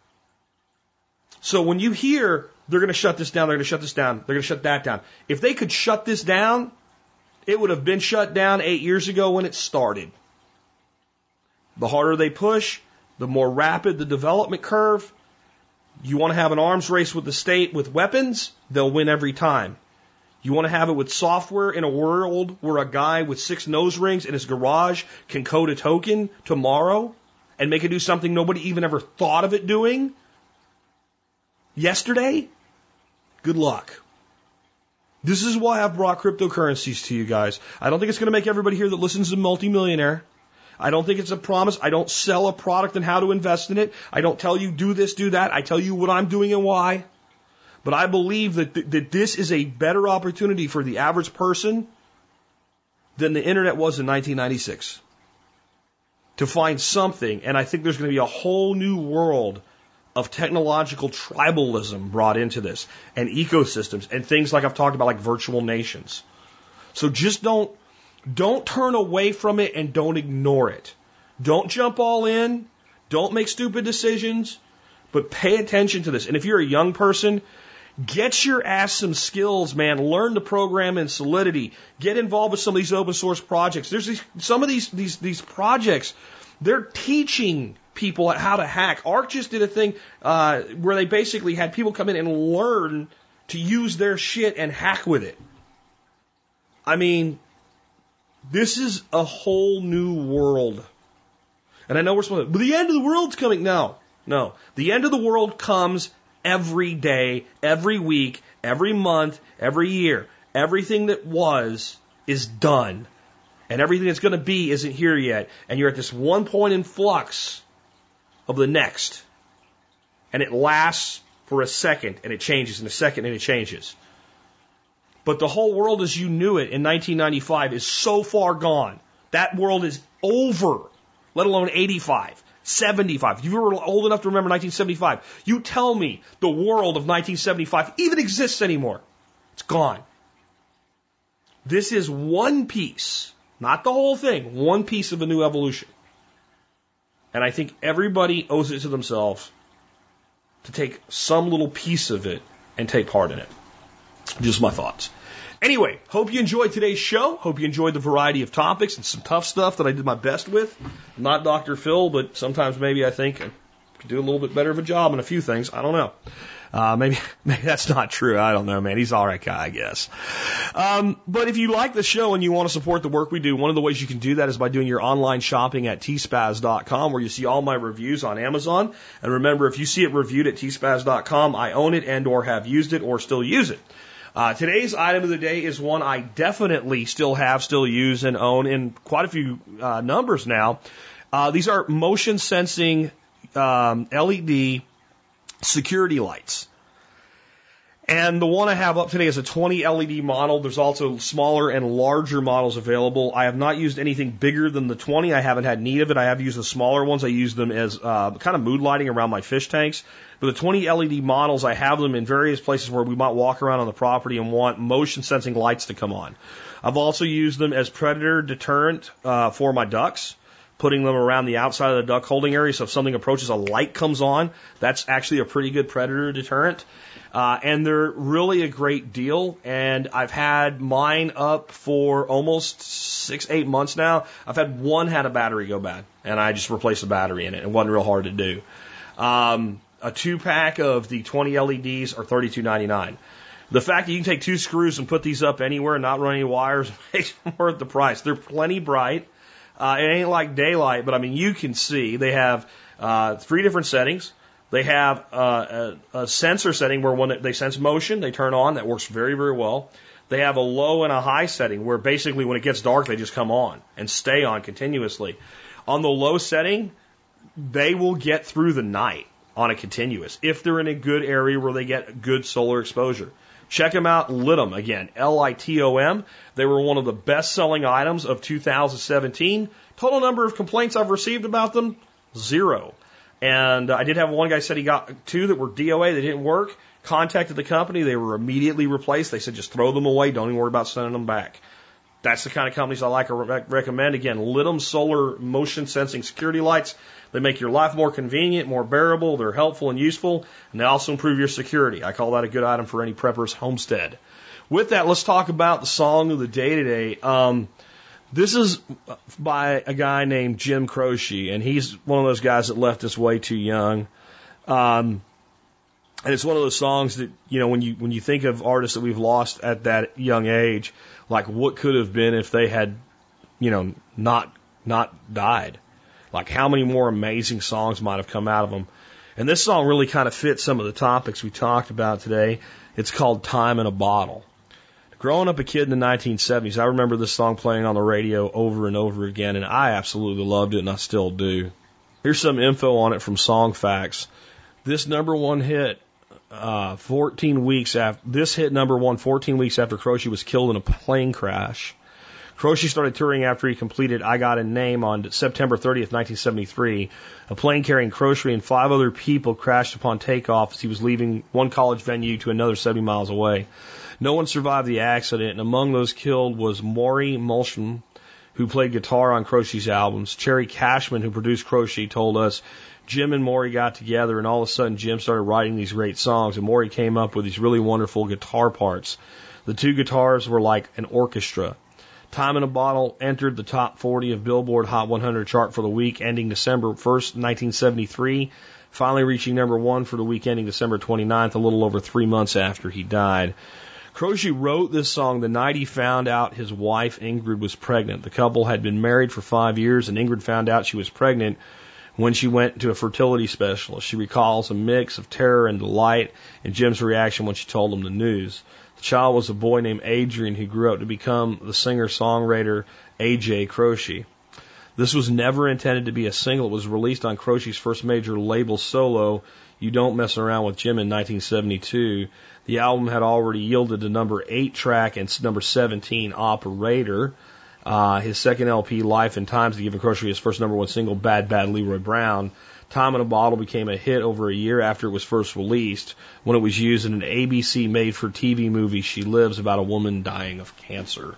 So when you hear they're going to shut this down, they're going to shut this down, they're going to shut that down. If they could shut this down, it would have been shut down eight years ago when it started. The harder they push, the more rapid the development curve. You want to have an arms race with the state with weapons, they'll win every time. You want to have it with software in a world where a guy with six nose rings in his garage can code a token tomorrow and make it do something nobody even ever thought of it doing yesterday? Good luck. This is why I've brought cryptocurrencies to you guys. I don't think it's going to make everybody here that listens a multimillionaire. I don't think it's a promise. I don't sell a product and how to invest in it. I don't tell you do this, do that. I tell you what I'm doing and why. But I believe that, th- that this is a better opportunity for the average person than the internet was in nineteen ninety-six. To find something, and I think there's going to be a whole new world of technological tribalism brought into this, and ecosystems, and things like I've talked about, like virtual nations. So just don't, don't turn away from it and don't ignore it. Don't jump all in. Don't make stupid decisions, but pay attention to this. And if you're a young person, get your ass some skills, man. Learn to program in Solidity. Get involved with some of these open source projects. There's these, some of these, these, these projects, they're teaching people how to hack. ARK just did a thing uh, where they basically had people come in and learn to use their shit and hack with it. I mean, this is a whole new world. And I know we're supposed to, but the end of the world's coming. No, no. The end of the world comes every day, every week, every month, every year. Everything that was is done. And everything that's going to be isn't here yet. And you're at this one point in flux of the next. And it lasts for a second, and it changes, in a second, and it changes. But the whole world as you knew it in nineteen ninety-five is so far gone. That world is over, let alone eighty-five, seventy-five. If you were old enough to remember nineteen seventy-five, you tell me the world of nineteen seventy-five even exists anymore. It's gone. This is one piece, not the whole thing, one piece of a new evolution. And I think everybody owes it to themselves to take some little piece of it and take part in it. Just my thoughts. Anyway, hope you enjoyed today's show. Hope you enjoyed the variety of topics and some tough stuff that I did my best with. I'm not Doctor Phil, but sometimes maybe I think I could do a little bit better of a job on a few things. I don't know. Uh, maybe, maybe that's not true. I don't know, man. He's all right guy, I guess. Um, but if you like the show and you want to support the work we do, one of the ways you can do that is by doing your online shopping at T spaz dot com, where you see all my reviews on Amazon. And remember, if you see it reviewed at T spaz dot com, I own it and or have used it or still use it. Uh, today's item of the day is one I definitely still have, still use, and own in quite a few uh, numbers now. Uh, these are motion sensing um, L E D security lights. And the one I have up today is a twenty L E D model. There's also smaller and larger models available. I have not used anything bigger than the twenty. I haven't had need of it. I have used the smaller ones. I use them as uh, kind of mood lighting around my fish tanks. But the twenty L E D models, I have them in various places where we might walk around on the property and want motion sensing lights to come on. I've also used them as predator deterrent uh, for my ducks, putting them around the outside of the duck holding area. So if something approaches, a light comes on. That's actually a pretty good predator deterrent. Uh, and they're really a great deal. And I've had mine up for almost six, eight months now. I've had one had a battery go bad, and I just replaced the battery in it. It wasn't real hard to do. Um, a two pack of the twenty L E Ds are thirty-two ninety-nine. The fact that you can take two screws and put these up anywhere and not run any wires makes them worth the price. They're plenty bright. Uh, it ain't like daylight, but I mean, you can see they have uh, three different settings. They have uh, a, a sensor setting where when they sense motion, they turn on. That works very, very well. They have a low and a high setting where basically when it gets dark, they just come on and stay on continuously. On the low setting, they will get through the night on a continuous if they're in a good area where they get good solar exposure. Check them out, Litom, again, L I T O M. They were one of the best-selling items of two thousand seventeen. Total number of complaints I've received about them, zero. And I did have one guy said he got two that were D O A, they didn't work. Contacted the company, they were immediately replaced. They said just throw them away, don't even worry about sending them back. That's the kind of companies I like to re- recommend. Again, Litom solar motion sensing security lights. They make your life more convenient, more bearable. They're helpful and useful, and they also improve your security. I call that a good item for any prepper's homestead. With that, let's talk about the song of the day today. Um, this is by a guy named Jim Croce, and he's one of those guys that left us way too young. Um, and it's one of those songs that, you know, when you when you think of artists that we've lost at that young age, like what could have been if they had, you know, not not died. Like how many more amazing songs might have come out of them. And this song really kind of fits some of the topics we talked about today. It's called Time in a Bottle. Growing up a kid in the nineteen seventies, I remember this song playing on the radio over and over again, and I absolutely loved it, and I still do. Here's some info on it from Song Facts. This number one hit, uh, fourteen weeks after, this hit number one fourteen weeks after Croce was killed in a plane crash. Croce started touring after he completed I Got a Name on September thirtieth, nineteen seventy-three. A plane carrying Croce and five other people crashed upon takeoff as he was leaving one college venue to another seventy miles away. No one survived the accident, and among those killed was Maury Mulsham, who played guitar on Croce's albums. Cherry Cashman, who produced Croce, told us Jim and Maury got together, and all of a sudden Jim started writing these great songs, and Maury came up with these really wonderful guitar parts. The two guitars were like an orchestra. Time in a Bottle entered the top forty of Billboard Hot one hundred chart for the week ending December first, nineteen seventy-three, finally reaching number one for the week ending December twenty-ninth, a little over three months after he died. Croce wrote this song the night he found out his wife Ingrid was pregnant. The couple had been married for five years, and Ingrid found out she was pregnant when she went to a fertility specialist. She recalls a mix of terror and delight in Jim's reaction when she told him the news. The child was a boy named Adrian who grew up to become the singer-songwriter A J Croce. This was never intended to be a single. It was released on Croce's first major label solo, You Don't Mess Around with Jim, in nineteen seventy-two. The album had already yielded the number eight track and number seventeen, Operator. Uh, his second L P, Life and Times, had given Croce his first number one single, Bad Bad Leroy Brown. Time in a Bottle became a hit over a year after it was first released, when it was used in an A B C made-for-T V movie, She Lives, about a woman dying of cancer.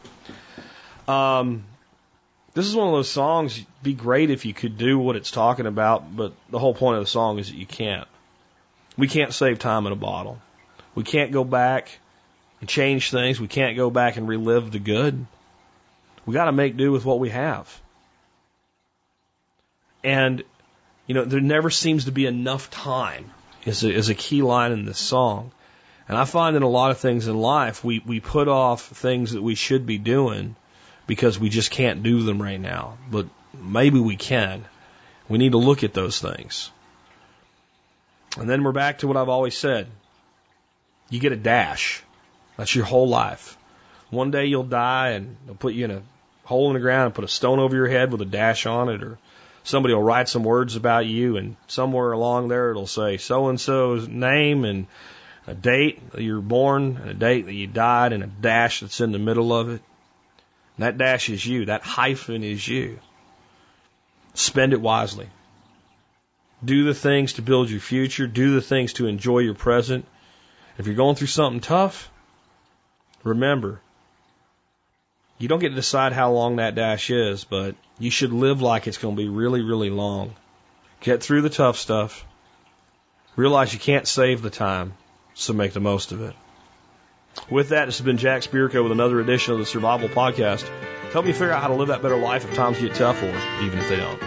Um, this is one of those songs, it'd be great if you could do what it's talking about, but the whole point of the song is that you can't. We can't save time in a bottle. We can't go back and change things. We can't go back and relive the good. We got to make do with what we have. And, you know, there never seems to be enough time is a, is a key line in this song. And I find in a lot of things in life, we, we put off things that we should be doing because we just can't do them right now. But maybe we can. We need to look at those things. And then we're back to what I've always said. You get a dash. That's your whole life. One day you'll die and they'll put you in a hole in the ground and put a stone over your head with a dash on it, or somebody will write some words about you, and somewhere along there it'll say so-and-so's name and a date that you were born and a date that you died and a dash that's in the middle of it. And that dash is you. That hyphen is you. Spend it wisely. Do the things to build your future. Do the things to enjoy your present. If you're going through something tough, remember, you don't get to decide how long that dash is, but you should live like it's going to be really, really long. Get through the tough stuff. Realize you can't save the time, so make the most of it. With that, this has been Jack Spirko with another edition of the Survival Podcast. Help you figure out how to live that better life if times get tough, or even if they don't.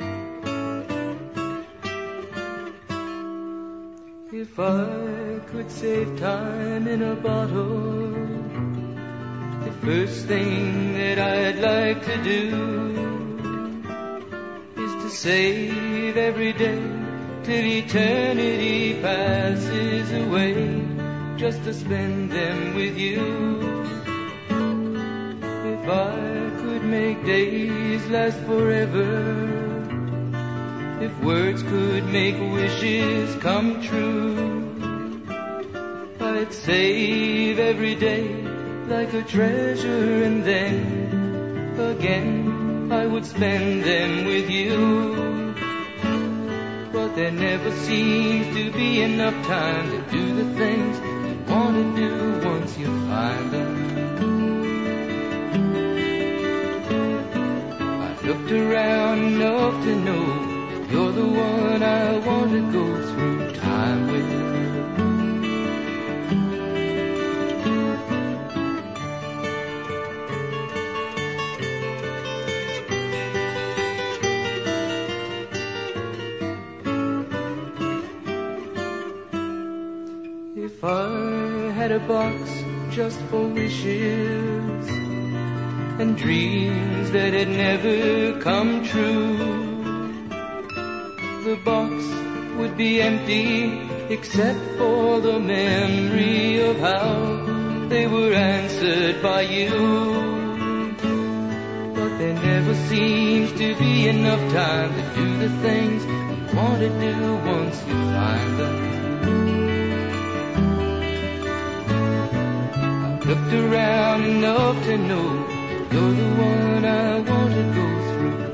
If I could save time in a bottle, the first thing that I'd like to do is to save every day till eternity passes away, just to spend them with you. If I could make days last forever, if words could make wishes come true, I'd save every day like a treasure, and then again I would spend them with you. But there never seems to be enough time to do the things you want to do once you find them. I've looked around enough to know you're the one I want to go through time with. If I had a box just for wishes and dreams that had never come true, the box would be empty except for the memory of how they were answered by you. But there never seems to be enough time to do the things you want to do once you find them. I've looked around enough to know you're the one I want to go through